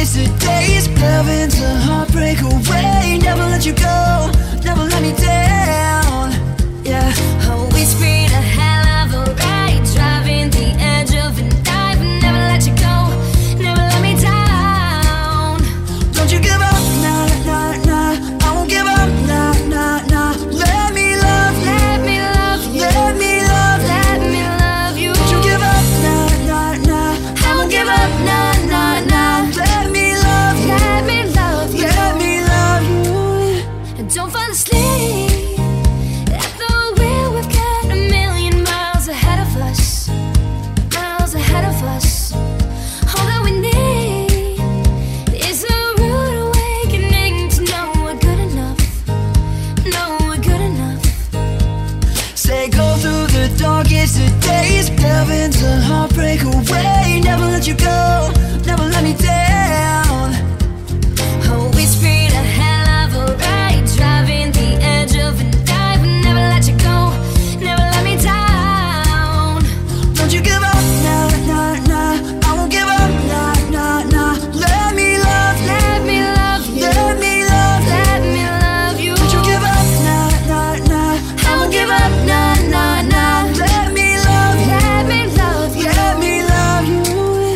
darkest of days, heaven's a heartbreak away. Never let you go, never let me down. Yeah, Oh, it's been a hell of a ride, driving the edge of a knife. Never let you go, never let me down. don't you give up, nah, nah, nah. I won't give up, nah, nah, nah. Let me love you, Let me love you, let me love you. let me love you. Don't you give up, nah, nah, nah. I won't give up, nah, nah, nah. Let me love you, Let me love you, let me love you. and don't fall asleep at the wheel. We've got a million miles ahead of us, miles ahead of us. All that we need is a rude awakening to know we're good enough, know we're good enough. Say go through the darkest of days, heaven's a heartbreak away. Never let you go, never let me down. Oh, it's been a hell of a ride, driving the edge of a knife. Never let you go, never let me down. Don't you give up, nah, nah, nah. I won't give up, nah, nah, nah. Let me love you, Let me love you, let me love you. let me love you. Don't you give up, nah, nah, nah. I won't give up, nah, nah, nah. Let me love you, Let me love you. let me love you.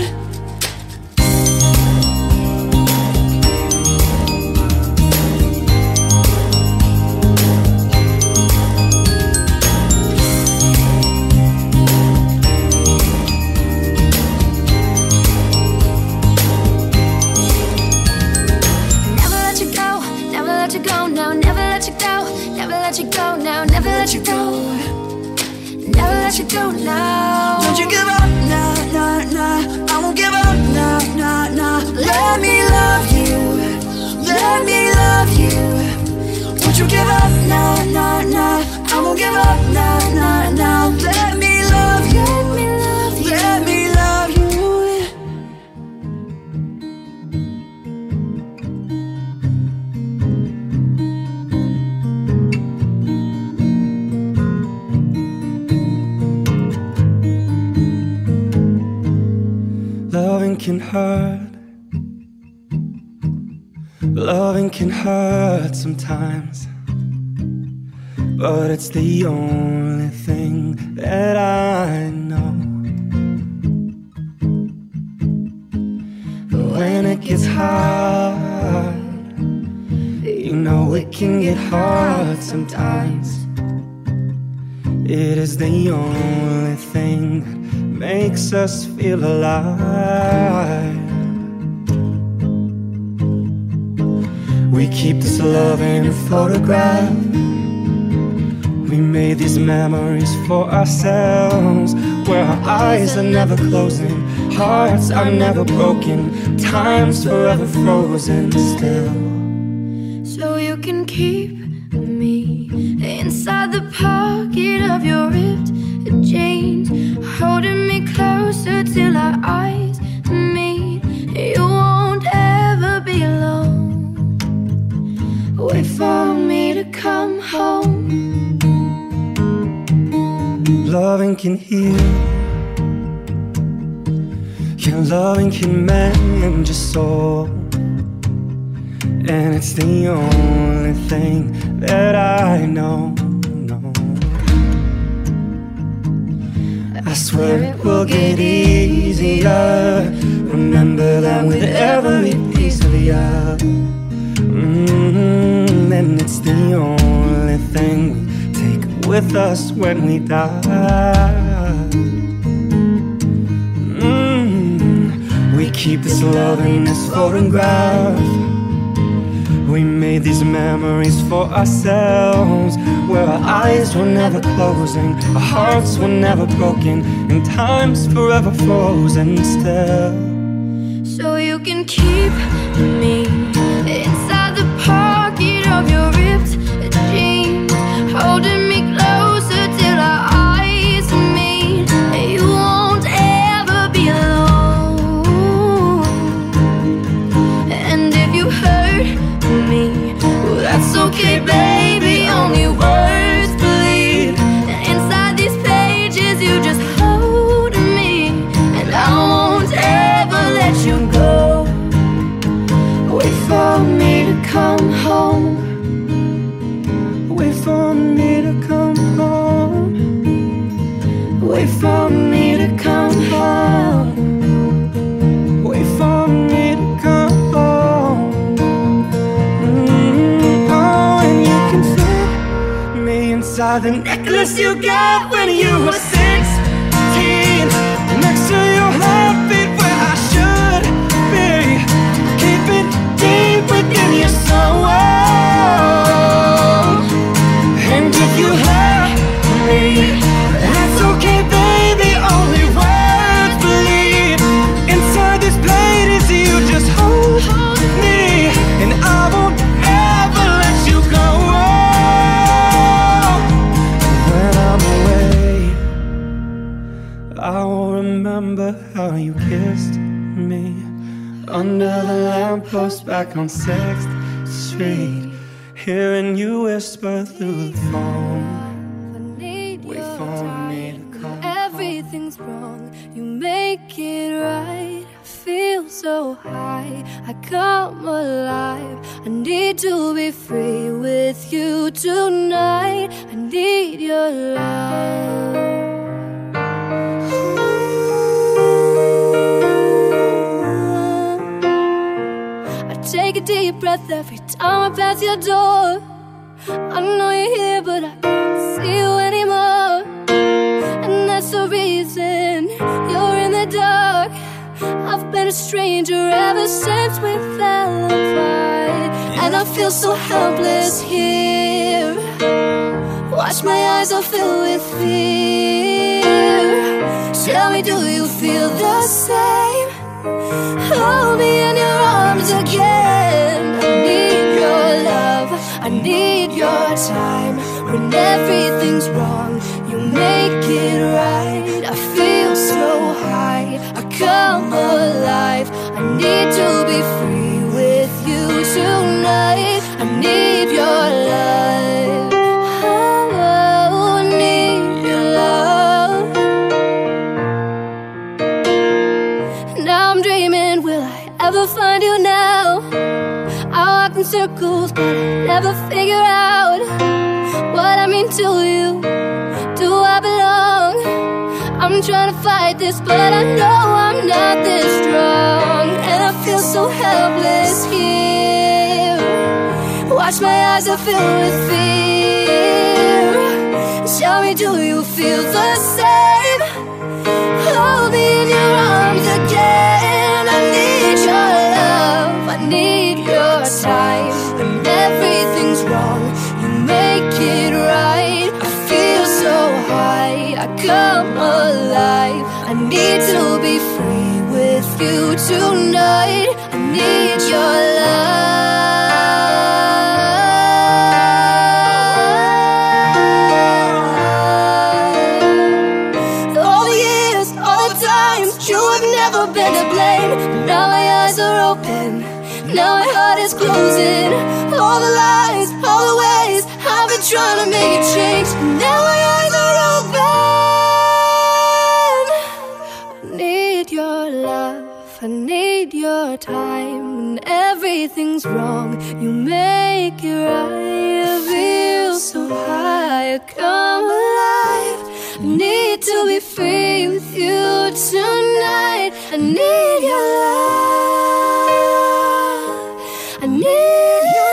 Never let you go, never let you go now, never let you go, never let you go now, never let you go, never let you go now. Don't you give up, nah, nah, nah. I won't give up, nah, nah, nah. Let me love you, let me love you. Don't you give up, nah, nah, nah. I won't give up, nah, nah, nah. Let me love you, Let me love you. let me love you. Loving can hurt. Loving can hurt sometimes, but it's the only thing that I know. But when it gets hard, you know it can get hard sometimes. It is the only thing that makes us feel alive. We keep this love in a photograph. We made these memories for ourselves, where our eyes are never closing, hearts are never broken, time's forever frozen still. So you can keep me inside the pocket of your ripped jeans, holding me closer till our eyes meet. You won't ever be alone. Wait for me to come home. Loving can heal, yeah, loving can mend your soul, and it's the only thing that I know, know. I swear it will get easier. Remember that with every piece of you, mm-hmm, and it's the only thing we take with us when we die. Mm, we keep this love in this photograph. We made these memories for ourselves, where our eyes were never closing, our hearts were never broken, and time's forever frozen still. So you can keep me inside the pocket of your ripped jeans, holding me closer till our eyes meet. You won't ever be alone. And if you hurt me, well, that's okay, baby. Only words bleed. And inside these pages, you just hold me, and I won't ever let you go. by the necklace you got when you were sixteen. Next to your heartbeat where I should be. Keep it deep within your soul. And if you hurt me, that's okay, baby. Only words bleed inside this pain is you just hold me, and I won't ever let you go. When I'm away, I will remember how you kissed me under the lamppost back on sixth street, hearing you whisper through the phone. Wait for me to come. Everything's wrong, you make it right. I feel so high, I come alive. I need to be free with you tonight. I need your love. I take a deep breath every time I pass your door. I know you're here, but I can't see you anymore. And that's the reason you're in the dark. I've been a stranger ever since we fell apart, and I feel so helpless here. Watch my eyes are filled with fear. Tell me, do you feel the same? Hold me in your arms again. I need your love, I need your time. When everything's wrong, you make it right. I feel so high, I come alive. I need to be free with you tonight. I need your love. Oh, I need your love. Now I'm dreaming, will I ever find you now? I walk in circles, but I never figure out what I mean to you. Do I belong? I'm trying to fight this, but I know I'm not this strong. And I feel so helpless here. Watch my eyes are filled with fear. Tell me, do you feel the same? Hold me in your arms again. I need your love, I need your time. When everything's wrong, you make it right. I feel so high, I come alive. I need to be free with you tonight. I need your love. All the years, all the times, you have never been to blame. But now my eyes are open, now my heart is closing. All the lies, all the ways I've been trying to make it change. Now my eyes are open. I need your love, I need your time. When everything's wrong, you make it right. I feel so high, I come alive. I need to be free with you tonight. I need your love, I need your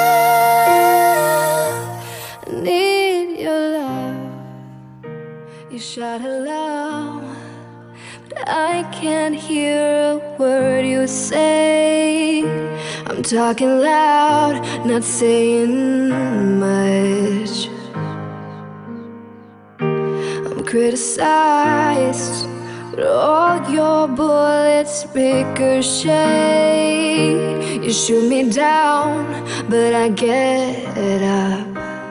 love, I need your love. You shout hello, but I can't hear a word you say. I'm talking loud, not saying much. I'm criticized, but all your bullets ricochet. You shoot me down, but I get up.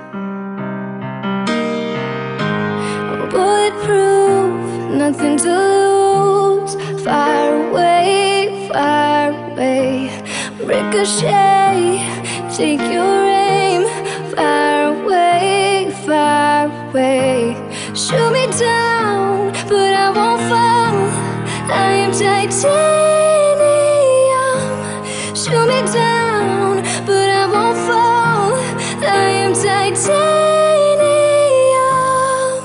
I'm bulletproof, nothing to lose. Fire away, fire away. Ricochet, take your aim. Fire away, fire away. Shoot me down, but I won't fall. I am titanium. Shoot me down, but I won't fall. I am titanium.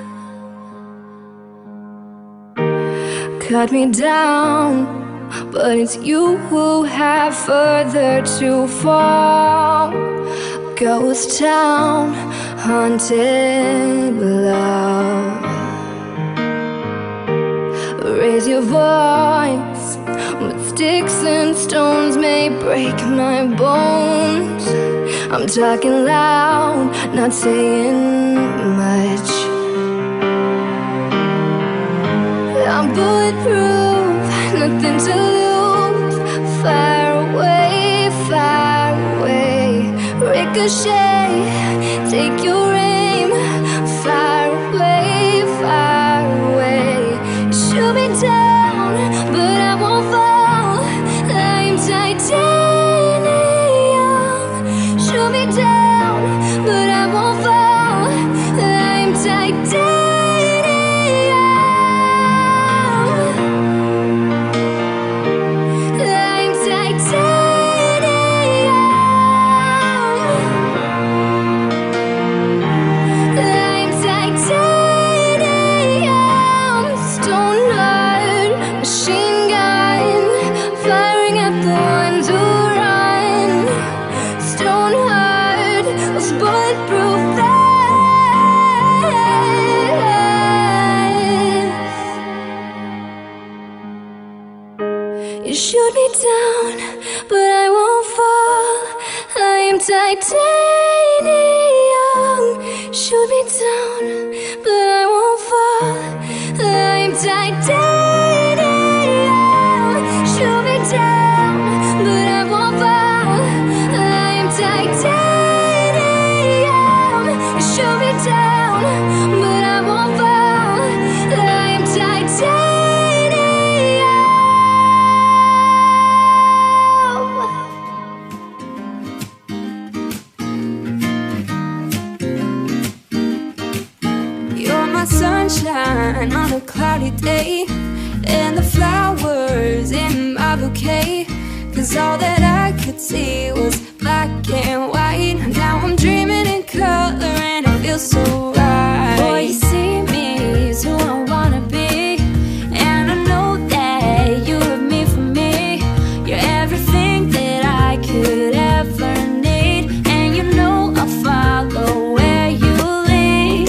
Cut me down, but it's you who have further to fall. ghost town, haunted love. Raise your voice, but sticks and stones may break my bones. I'm talking loud, not saying much. I'm bulletproof, nothing to lose. Far away, far away. Ricochet, take your aim. Far away, far away. Shoot me down, but I won't fall. I'm titanium. Shoot me down, but I won't fall. I'm titanium. You shoot me down, but I won't fall. I am titanium. Shoot me down, but I won't fall. I am titanium. Shoot me down, but I won't fall. I am titanium. Shoot me down, but I won't fall. I am titanium. Sunshine on a cloudy day, and the flowers in my bouquet. Cause all that I could see was black and white. Now I'm dreaming in color and it feels so right. Boy, you see me is who I wanna be, and I know that you have me for me. You're everything that I could ever need, and you know I'll follow where you lead.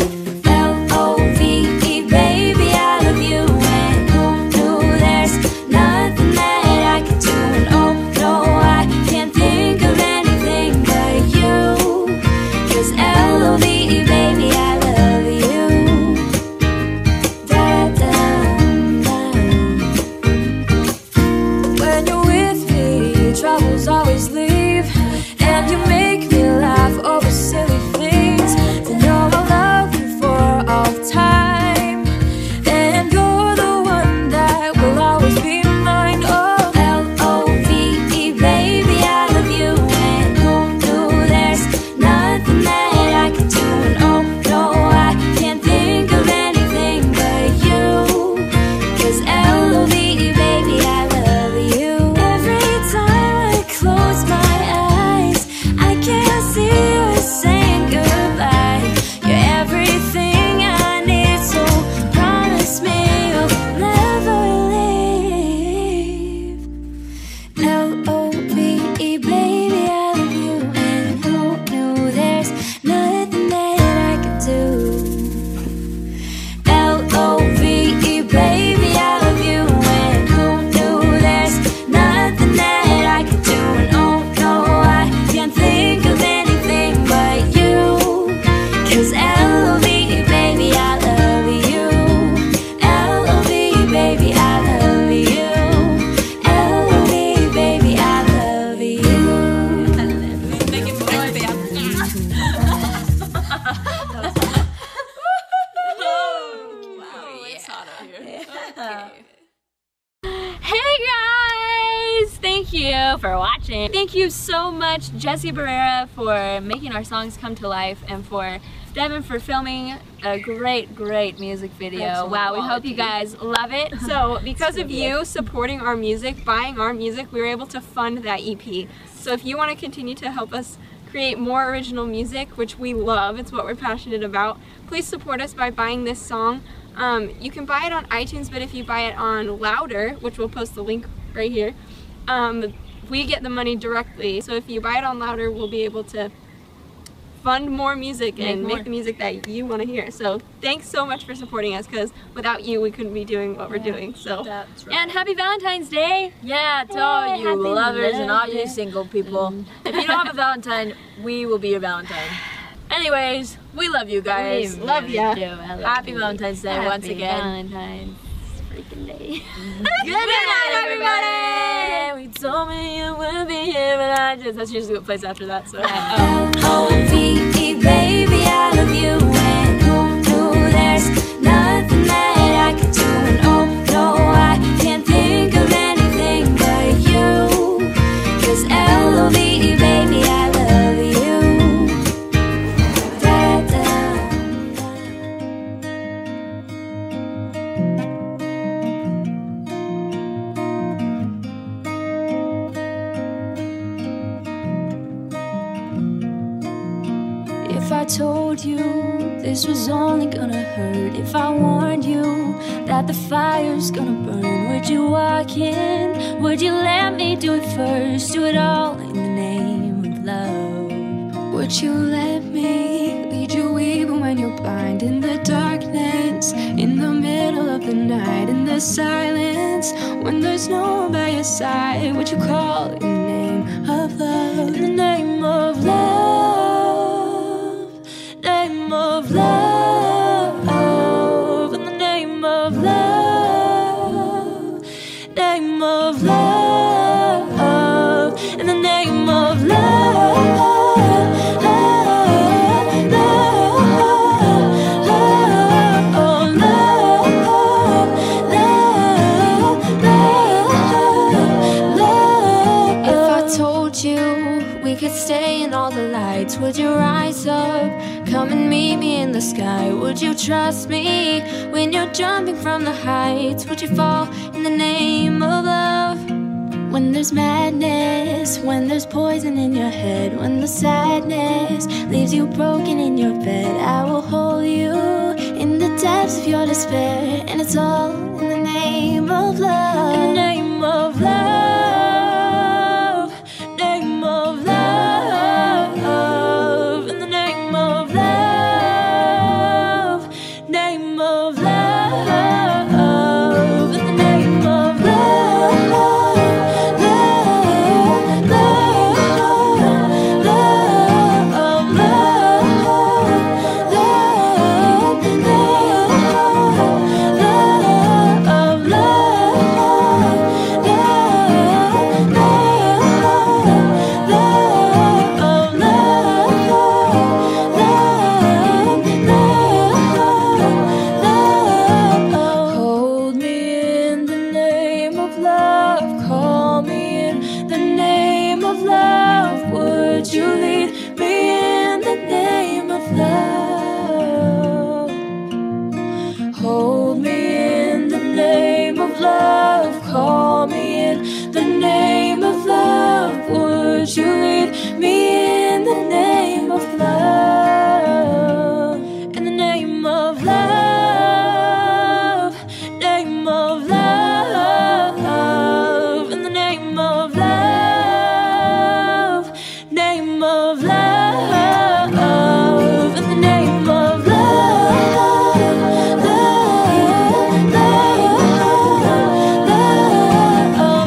Always leave, and you make me laugh over silly things. To know I'll love you for all time, and you're the one that will always be mine. Oh, L O V E, baby, I love you, and who knew there's nothing that I can do. And oh no, I can't think of anything but you. Cause L O V E, baby, I love you. Every time close my eyes, I can't see you saying goodbye. You're everything I need, so promise me you'll never leave. L O V E, baby, I love you, and who knew there's nothing that I could do. L O V E, baby, I love you, and who knew there's nothing that I could do. Think of anything but you. Cause L O V E, baby, I love you. L O V E, baby, I love you. L O V E, baby, I love you. Thank you for Hey guys! Thank you for watching. Thank you so much, Jesse Barrera, for making our songs come to life, and for Devin for filming a great, great music video. Excellent wow, we quality. hope you guys love it. So because of you supporting our music, buying our music, we were able to fund that E P. So if you want to continue to help us create more original music, which we love, it's what we're passionate about, please support us by buying this song. Um, you can buy it on iTunes, but if you buy it on Louder, which we'll post the link right here, um, we get the money directly. So if you buy it on Louder, we'll be able to fund more music Make and more. make the music that you want to hear. So thanks so much for supporting us, because without you we couldn't be doing what we're doing. So That's right. And happy Valentine's Day! Yeah, to Hey, all you happy lovers and all love you day. single people. If you don't have a Valentine, we will be your Valentine. Anyways, we love you guys. We love really ya. do. I love Happy you. Valentine's Day Happy once again. Valentine's freaking day. Good night, everybody! We told me you would be here, but I just, that's usually what plays after that, so. O V E, baby, I love you. And who knew there's nothing that I could do? And oh no, I can't think of anything but you. 'Cause L O V E, baby, I love you. Da, da, da. If I told you this was only gonna hurt, if I warned you that the fire's gonna burn, would you walk in? Would you let me do it first? Do it all in the name of love. Would you let me lead you even when you're blind? In the darkness, in the middle of the night, in the silence, when there's no one by your side, would you call in the name of love? In the name of love. Name of love, in the name of love, name of love, in the name of love, love, love, love, love. If I told you we could stay in all the lights, would you rise up? Come and meet me in the sky. Would you trust me when you're jumping from the heights? Would you fall in the name of love? When there's madness, when there's poison in your head, when the sadness leaves you broken in your bed, I will hold you in the depths of your despair. And it's all in the name of love. In the name of love. Name of love. In the name of love. Name of love. In the name of love. Love, love, love, love, love, love, hold me in the name of love, call me in the name of love. Would you lead me in the name of love? Hold me in the name of love, call me in the name of love. Would you lead me in the name of love? In the name of love, name of love, in the name of love, name of love, in the name of love, love, love,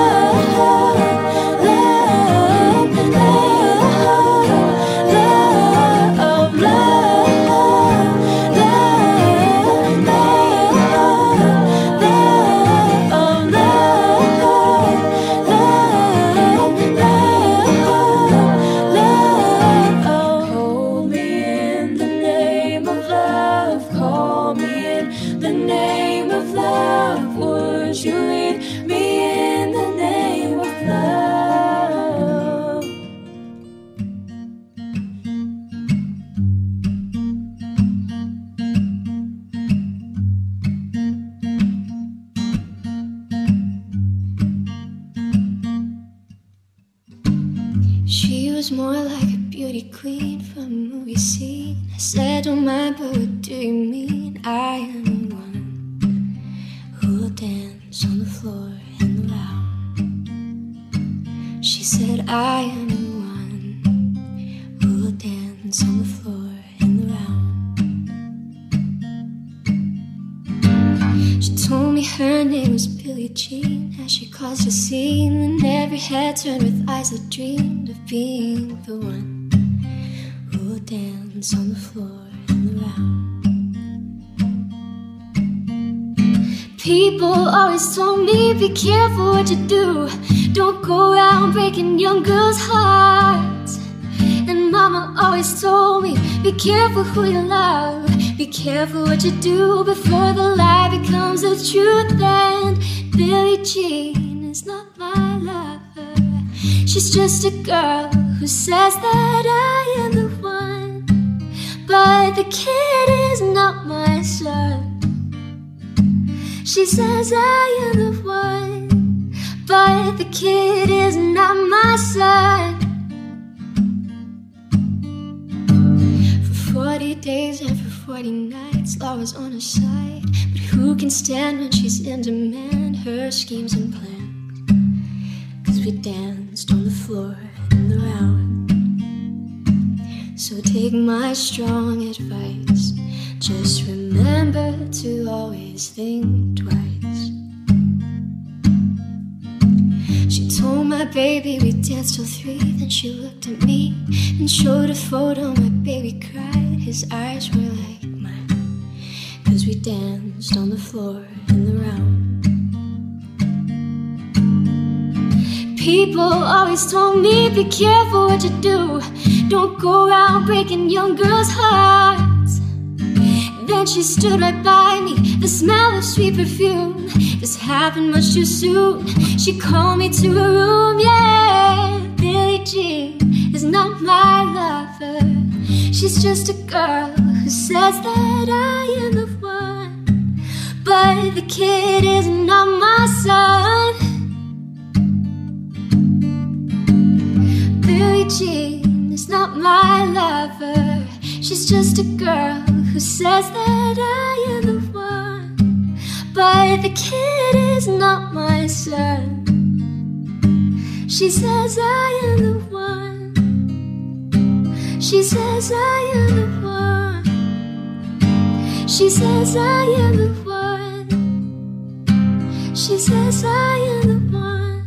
love, love, hold me in the name of love, call me in the name of love. Would you lead me in the name of love? She was more like a beauty queen from a movie scene. I said, don't mind, but what do you mean? I am the one who will dance on the floor in the lounge. She said, I am the one who will dance on Billie Jean as she caused a scene when every head turned with eyes that dreamed of being the one who would dance on the floor in the round. People always told me, be careful what you do. Don't go around breaking young girls' hearts. And mama always told me, be careful who you love. Be careful what you do before the lie becomes the truth. And Billie Jean is not my lover. She's just a girl who says that I am the one. But the kid is not my son. She says I am the one, but the kid is not my son. For forty days and for forty nights, law was on her side. But who can stand when she's in demand? Her schemes and plans, 'cause we danced on the floor in the round. So take my strong advice, just remember to always think twice. She told my baby we danced till three. Then she looked at me and showed a photo. My baby cried, his eyes were like mine, 'cause we danced on the floor in the round. People always told me, be careful what you do. Don't go around breaking young girls' hearts. Then she stood right by me, the smell of sweet perfume. This happened much too soon. She called me to her room, yeah. Billie Jean is not my lover. She's just a girl who says that I am the one. But the kid is not my son. Billie Jean is not my lover. She's just a girl who says that I am the one. But the kid is not my son. She says I am the one. She says I am the one. She says I am the one. She says I am the one.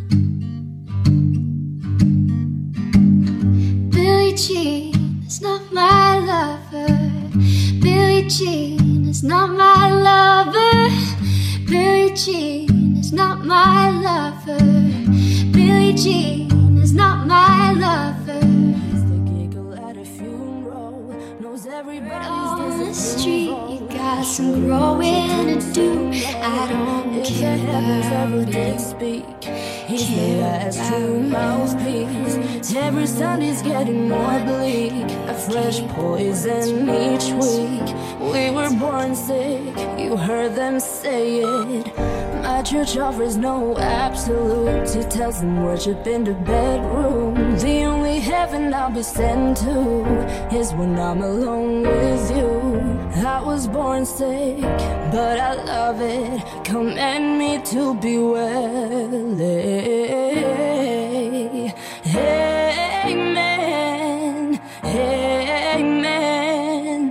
Billie Jean is not my lover. Billie Jean is not my lover. Billie Jean is not my lover. Billie Jean is not my lover. The giggle at a funeral knows everybody's on the street, you got some growing to do. I don't care about it. Speak. He's the last true mouthpiece. Every Sunday's getting more bleak. A fresh poison each week. We were born sick, you heard them say it. My church offers no absolutes. He tells them worship in the bedroom. The only heaven I'll be sent to is when I'm alone with you. I was born sick, but I love it. Command me to be well. Amen. Amen.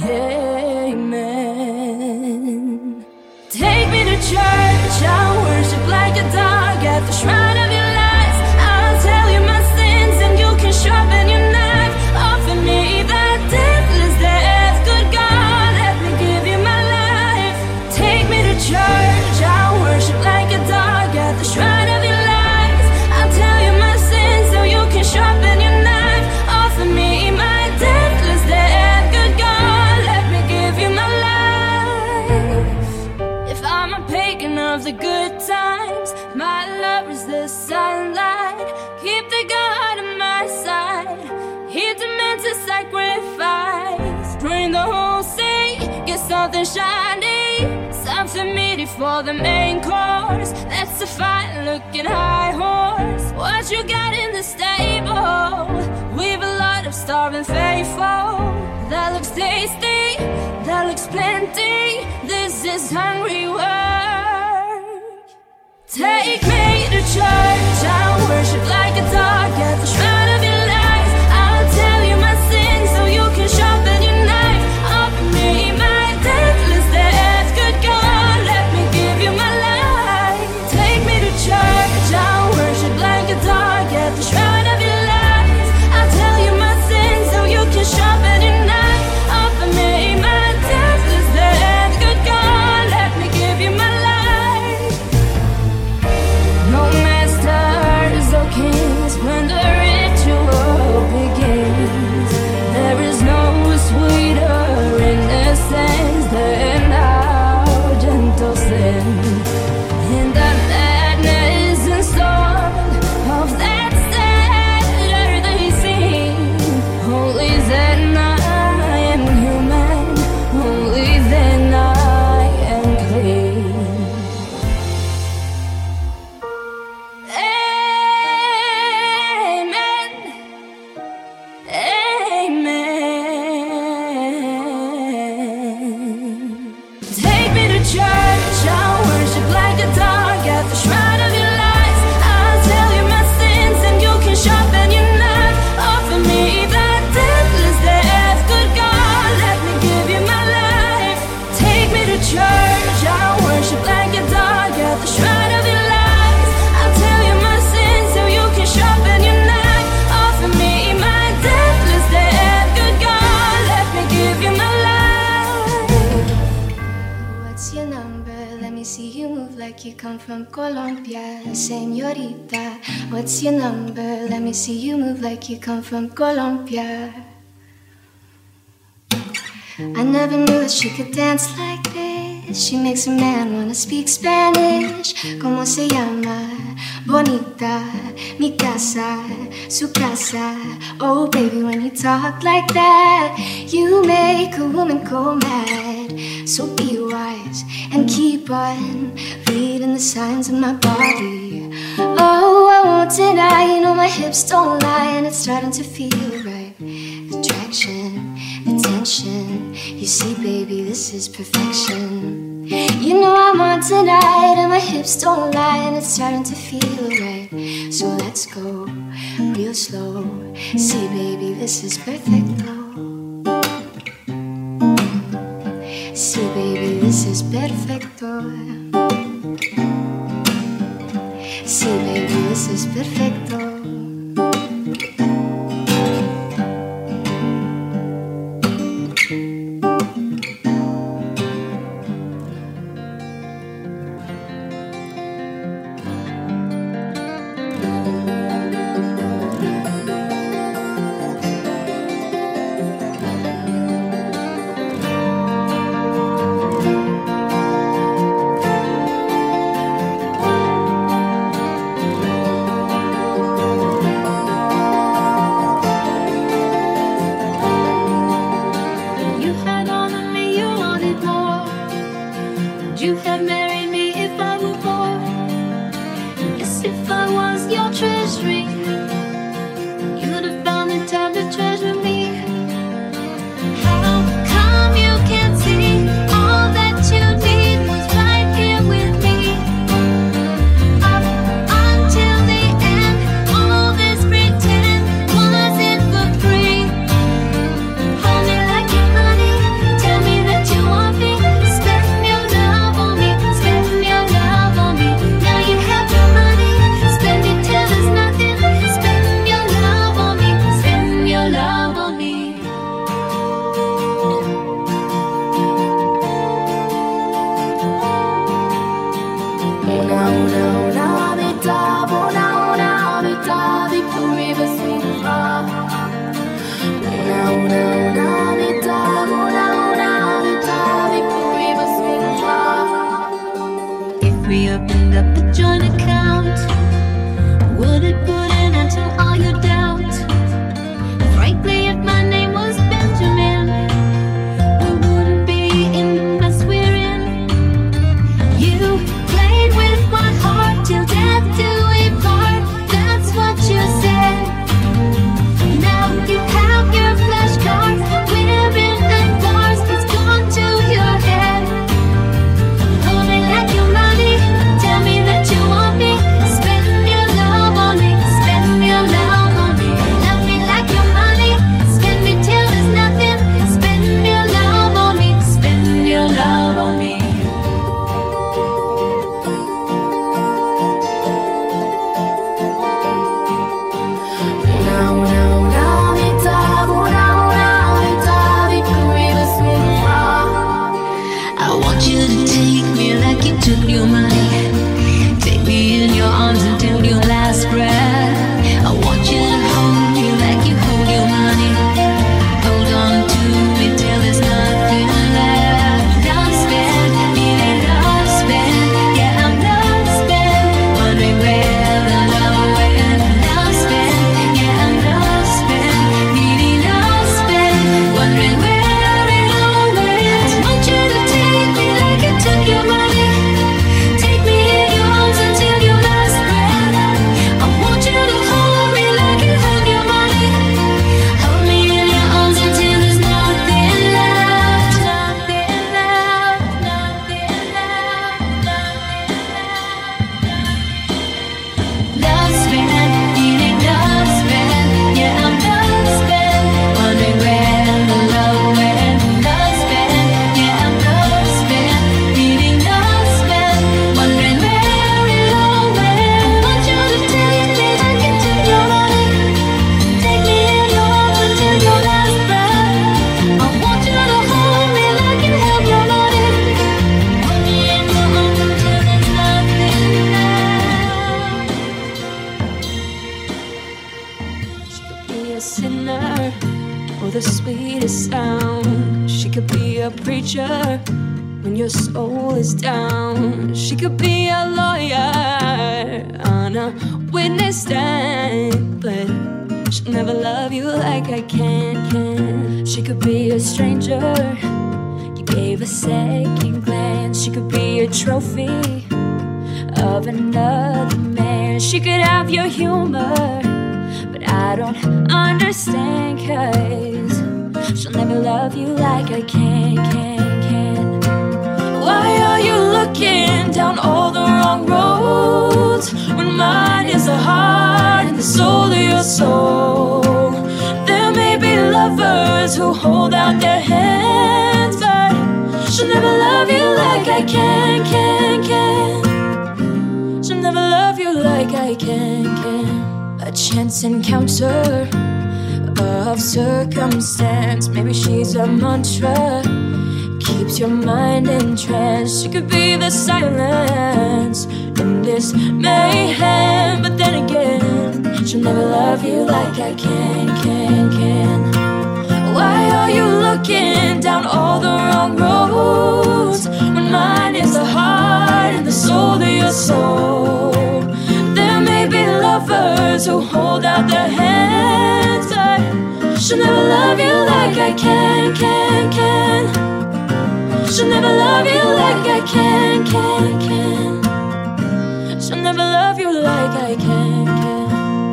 Amen. Take me to church, I'll worship like a dog at the shrine of your lies. I'll tell you my sins and you can sharpen your knife. Offer me that deathless death. Good God, let me give you my life. Take me to church, I'll worship like a dog at the shrine of your lies. I'll tell you my sins so you can sharpen your knife. Offer me my deathless death. Good God, let me give you my life. If I'm a pagan of the good times, my love is the sunlight. Keep the God on my side. He demands a sacrifice. Bring the whole sea, get something shiny, something meaty for the main course. That's a fine-looking high horse. What you got in the stable? We've a lot of starving faithful. That looks tasty, that looks plenty. This is hungry work. Take me to church, I'll worship like a dog at the shrine of your lies. I'll tell you my sins so you can sharpen your knife. Offer me my deathless death. Good God, let me give you my life. come from Colombia, señorita. What's your number? Let me see you move like you come from Colombia. I never knew that she could dance like this. She makes a man wanna speak Spanish. ¿Cómo se llama? Bonita, mi casa, su casa. Oh baby, when you talk like that, you make a woman go mad. So be wise and keep on reading the signs of my body. Oh, I won't deny, you know my hips don't lie, and it's starting to feel right. Attraction, attention, you see baby, this is perfection. You know I'm on tonight and my hips don't lie, and it's starting to feel right. So let's go real slow. See baby, this is perfecto. See baby, this is perfecto. See baby, this is perfecto. You have married me if I were poor. Yes, if I was your treasury, you'd have found the time to treasure me. How come you can't see all that you need was right here with me? Up until the end, all this pretend wasn't for free. Hold me like your honey, tell me that you want me. Now you have your money, spend it till there's nothing. sinner or the sweetest sound. She could be a preacher when your soul is down. She could be a lawyer on a witness stand, but she'll never love you like I can, can. She could be a stranger you gave a second glance. She could be a trophy of another man. She could have your humor, but I don't understand, 'cause she'll never love you like I can, can, can. Why are you looking down all the wrong roads when mine is the heart and the soul of your soul? There may be lovers who hold out their hands, but she'll never love you like I can, can, can. She'll never love you like I can, can. A chance encounter of circumstance. Maybe she's a mantra, keeps your mind entranced. She could be the silence in this mayhem, but then again, she'll never love you like I can, can, can. Why are you looking down all the wrong roads when mine is the heart and the soul of your soul? There may be lovers who hold out their hands, but she'll never love you like I can, can, can. She'll never love you like I can, can, can. She'll never love you like I can, can.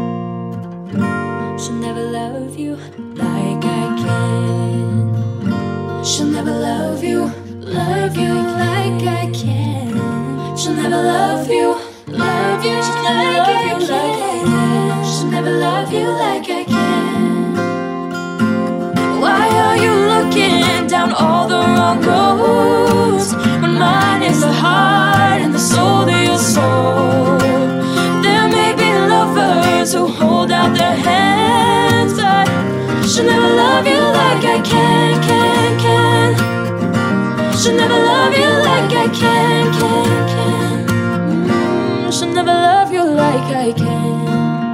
She'll never love you like I can. She'll never love you, love you like I can. She'll never love you, love you like I can. She'll never love you like I can. Why are you looking down all the wrong roads when mine is the heart and the soul of your soul? There may be lovers who hold out their hands, but she'll never love you like I can, can, can. She'll never love you like I can, can, can. Mm, she'll never love you like I can.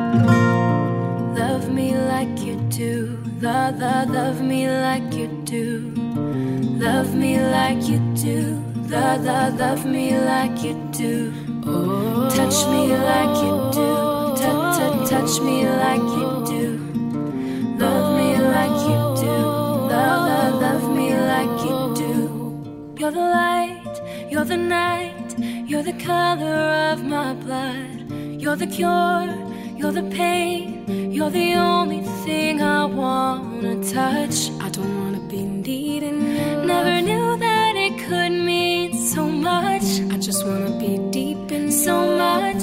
Love me like you do. Love, love, love me like you do. Love me like you do. Love, love, love me like you do. Oh, touch me like you do. Touch, touch, touch me like you do. Love me like you do. Love, love, love me like you do. You're the light, you're the night, you're the color of my blood. You're the cure, you're the pain, you're the only thing I wanna touch. I don't wanna be needing you. Never knew that it could mean so much. I just wanna be deep in so much.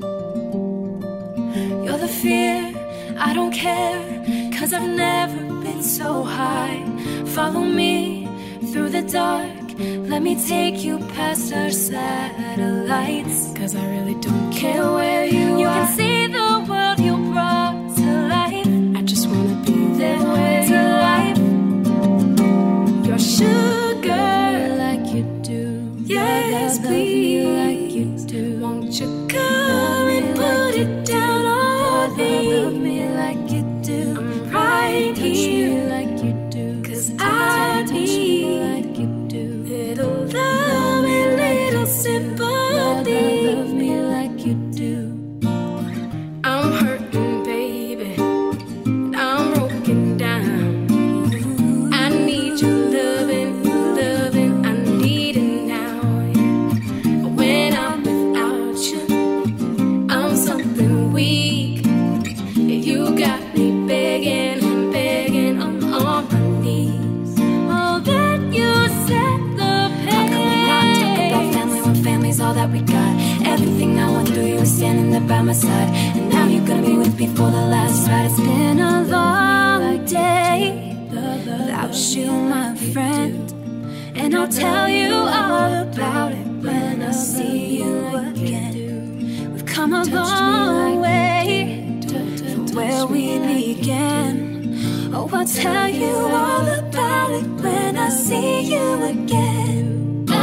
You're the fear, I don't care, 'cause I've never been so high. Follow me through the dark, let me take you past our satellites, 'cause I really don't care where you, you are. You can see the world you brought to life. I just wanna be there where to life. Your sugar like you do. Yes, please, like you do. Won't you come and put it down on me? Love me like you do. I'm right here like you do. 'Cause I need like you do. Little love and little sympathy. Love me like you do. I'm hurting, baby. I'm broken down. I need your loving, loving. I need it now. When I'm without you, I'm something weak. You got me begging and begging. I'm on my knees. Oh, that you set the pace. How come we not talk about family when family's all that we got? Everything I went through, you were standing there by my side. And now you're gonna be with me for the last ride. It's been a long day without you, my friend. And I'll tell you all about it when I see you again. We've come a long way from where we began. Oh, I'll tell you all about it when I see you again. Oh,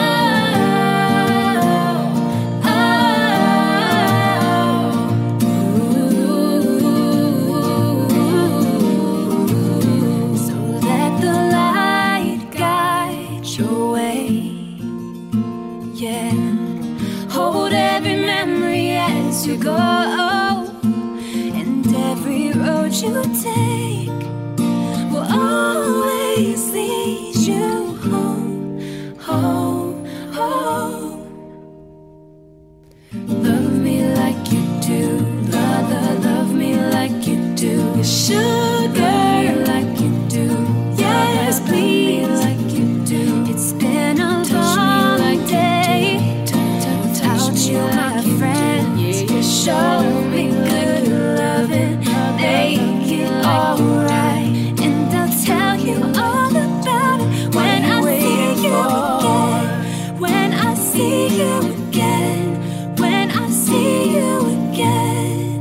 oh, ooh, ooh, ooh. you take will always lead you home, home, home. Love me like you do, love, love, love me like you do. Sugar like you do, yes, please like you do. It's been a long day without you, my friend. Show me good loving, make it alright, and I'll tell you all about it when I see you again. When I see you again. When I see you again.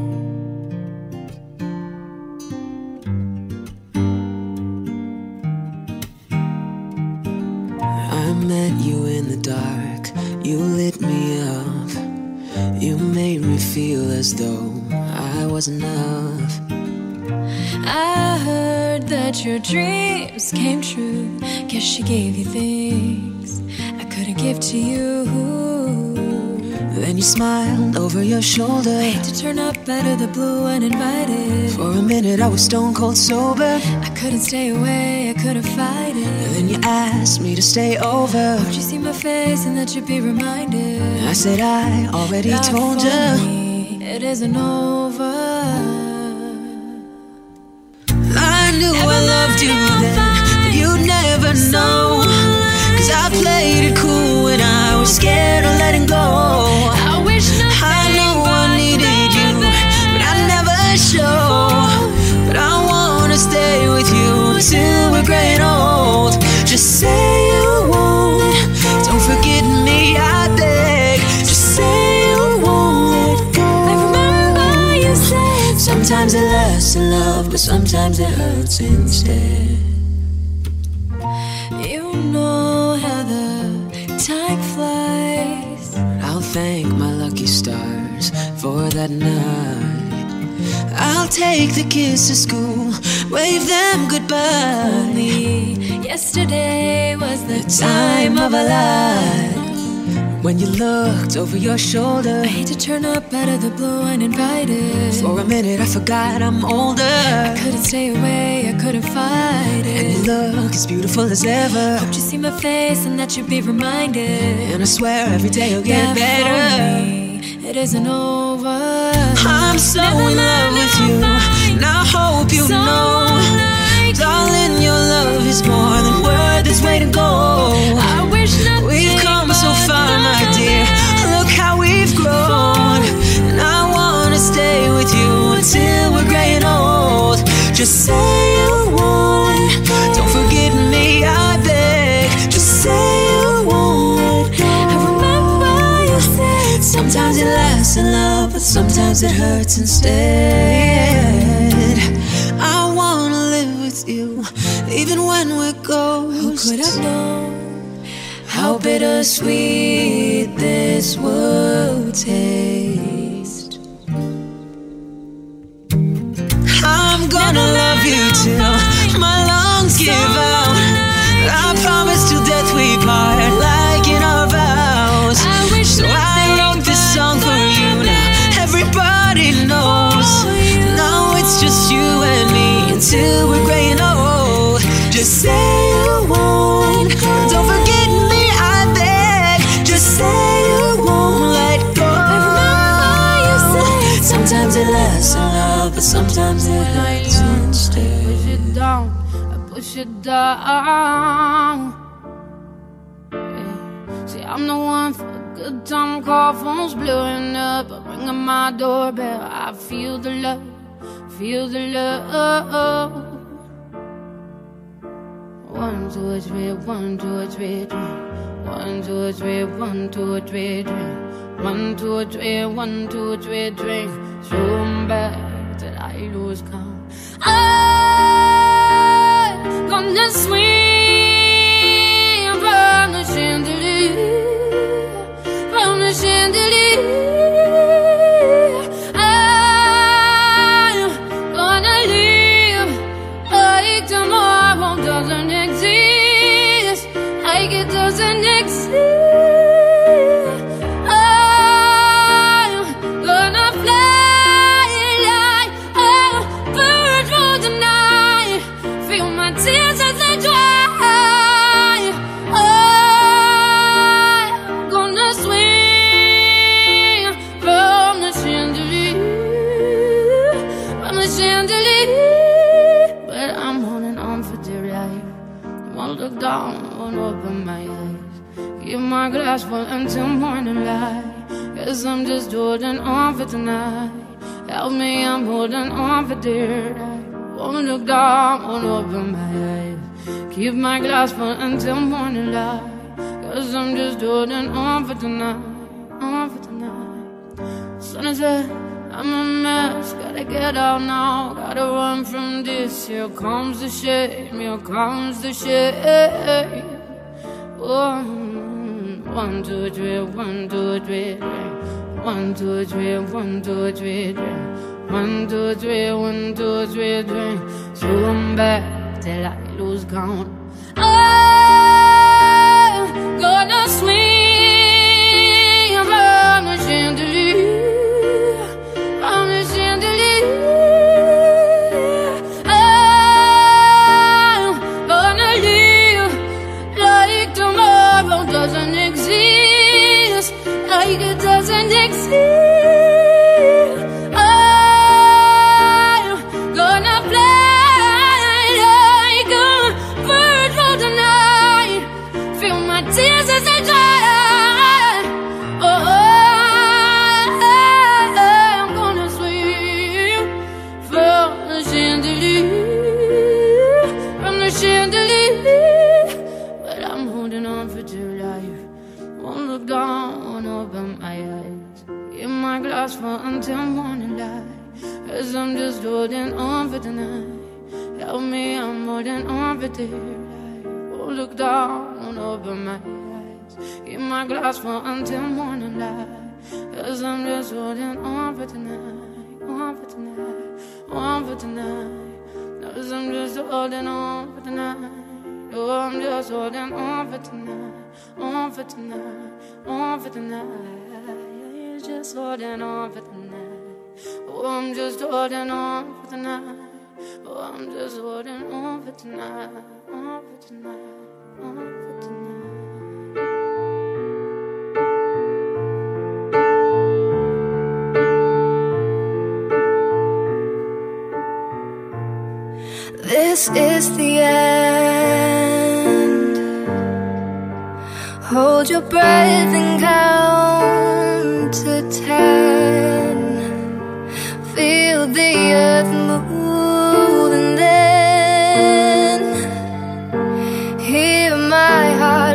I met you in the dark, you lit me up. You made me feel as though I was enough. I heard that your dreams came true. Guess she gave you things I couldn't give to you. Then you smiled over your shoulder. Hate to turn up out of the blue uninvited. For a minute I was stone cold sober. I couldn't stay away, I couldn't fight it. And then you asked me to stay over. Hope you see my face and that you'd be reminded. I said I already Not told for you me, it isn't over. I knew I loved you then, but you'd never know. Cause I played it cool when I was scared of letting go. I wish I know I needed you, but I never show. But I wanna stay with you till we're gray and old. Just say you won't, don't forget me, I beg. Just say you won't let go. I remember you said sometimes it lasts in love, but sometimes it hurts instead. You know how the time flies. I'll thank my lucky stars for that night. I'll take the kids to school, wave them goodbye. Only yesterday was the Time of our life. When you looked over your shoulder. I hate to turn up out of the blue uninvited. For a minute I forgot I'm older. I couldn't stay away, I couldn't fight it. And you look as beautiful as ever. Hope you see my face and that you'd be reminded. And I swear every day will get Yeah, better. for me, it isn't over. I'm so Never in love with you, and I hope you So know, like darling, your love is more than worth its weight in gold. I wish nothing We've come so but far, my the dear. Look how we've grown, and I wanna stay with you until we're gray and old. Just say you won't, don't forget me, I beg. Just say you won't. I remember you said Sometimes it lasts in love, but sometimes it hurts instead. I wanna live with you, even when we're ghosts. Who could have known how bittersweet this would taste? I'm gonna love you till my lungs give out. I promise till death we part, like in our vows. I wish So I wrote this song for you now. Everybody knows. Now it's just you and me until we're gray and old. Just say you won't, don't forget me, I beg. Just say you won't let go. I remember you said Sometimes it lasts in love, but sometimes it hurts instead. Push it down, I push it down. Yeah. See, I'm the one for a good time call, phone's blowing up. I ring on my doorbell, I feel the love, feel the love. One, two, three, one, two, three, three. One, two, three, one, two, three, three. One, two, three, one, two, three, three. So bad that I lose count. I'm gonna swing from the chandelier, from the chandelier. I'm gonna live like tomorrow doesn't exist, like it doesn't exist. I'm gonna fly like a bird. chandelier, but I'm holding on for dear life. Won't look down, won't open my eyes. Keep my glass full until morning light. Guess I'm just holding on for tonight. Help me, I'm holding on for dear life. Won't look down, won't open my eyes. Keep my glass full until morning light. Cause I'm just holding on for tonight, on for tonight. Sun is up, I'm a mess, gotta get out now. Gotta run from this, here comes the shame, here comes the shame. One, one, two, three, one, two, three, one, two, three, one, two, three, one, two, three, one, two, three, three. So I'm back till I lose count. I'm gonna swing from the chandelier, from the chandelier. I'm gonna live like tomorrow doesn't exist, like it doesn't exist. Until morning light, cause I'm just holding on for tonight. Help me, I'm holding on for dear life. Won't look down, won't open my eyes. Keep my glass full until morning light, cause I'm just holding on for tonight, on for tonight, on for tonight. Cause I'm just holding on for tonight. Oh, I'm just holding on for tonight, on for tonight, on for tonight. Just holding on for tonight. Oh, I'm just holding on for tonight. Oh, I'm just holding on for tonight. On for tonight. On for tonight. This is the end. Hold your breath and count to ten. Feel the earth move and then hear my heart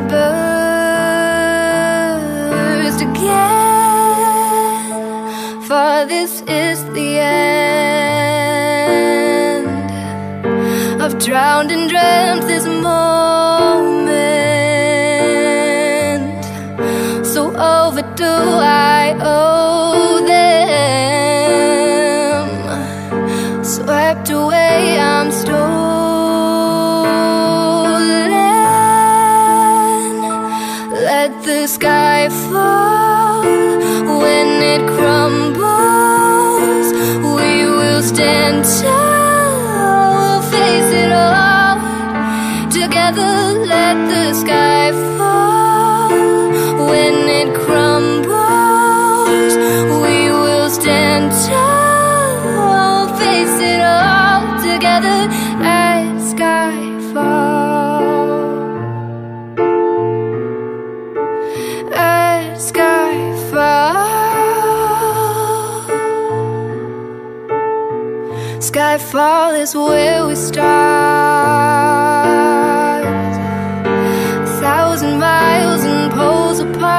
burst again. For this is the end. I've drowned and dreamt this moment. So overdo I owe them. Swept away, I'm stolen. Let the sky fall. When it crumbles, we will stand tall. Face it all together. Let the sky fall. When it crumbles, we will stand tall. Face it all together as skyfall. As skyfall. Skyfall is where we start. A thousand miles and poles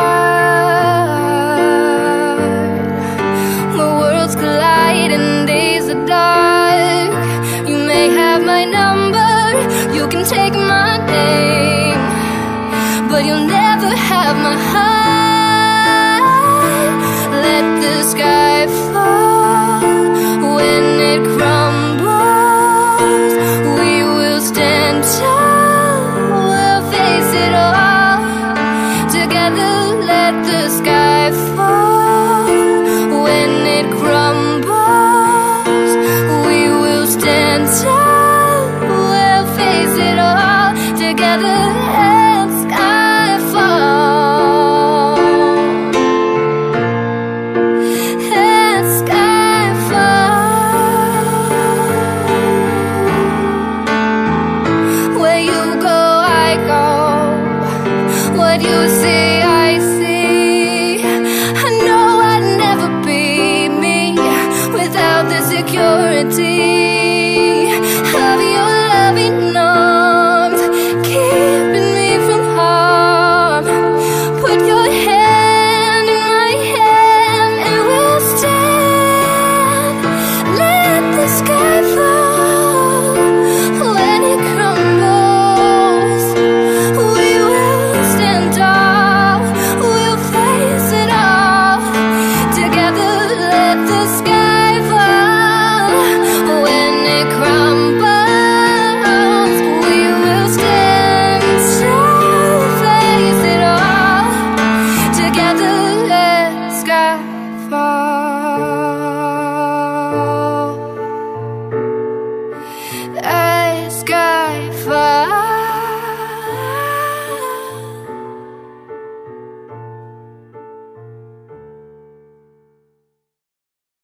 apart. The worlds collide and days are dark. You may have my number, you can take my name, but you'll never have my heart. Let the sky fall. When it crumbles, we will stand authority.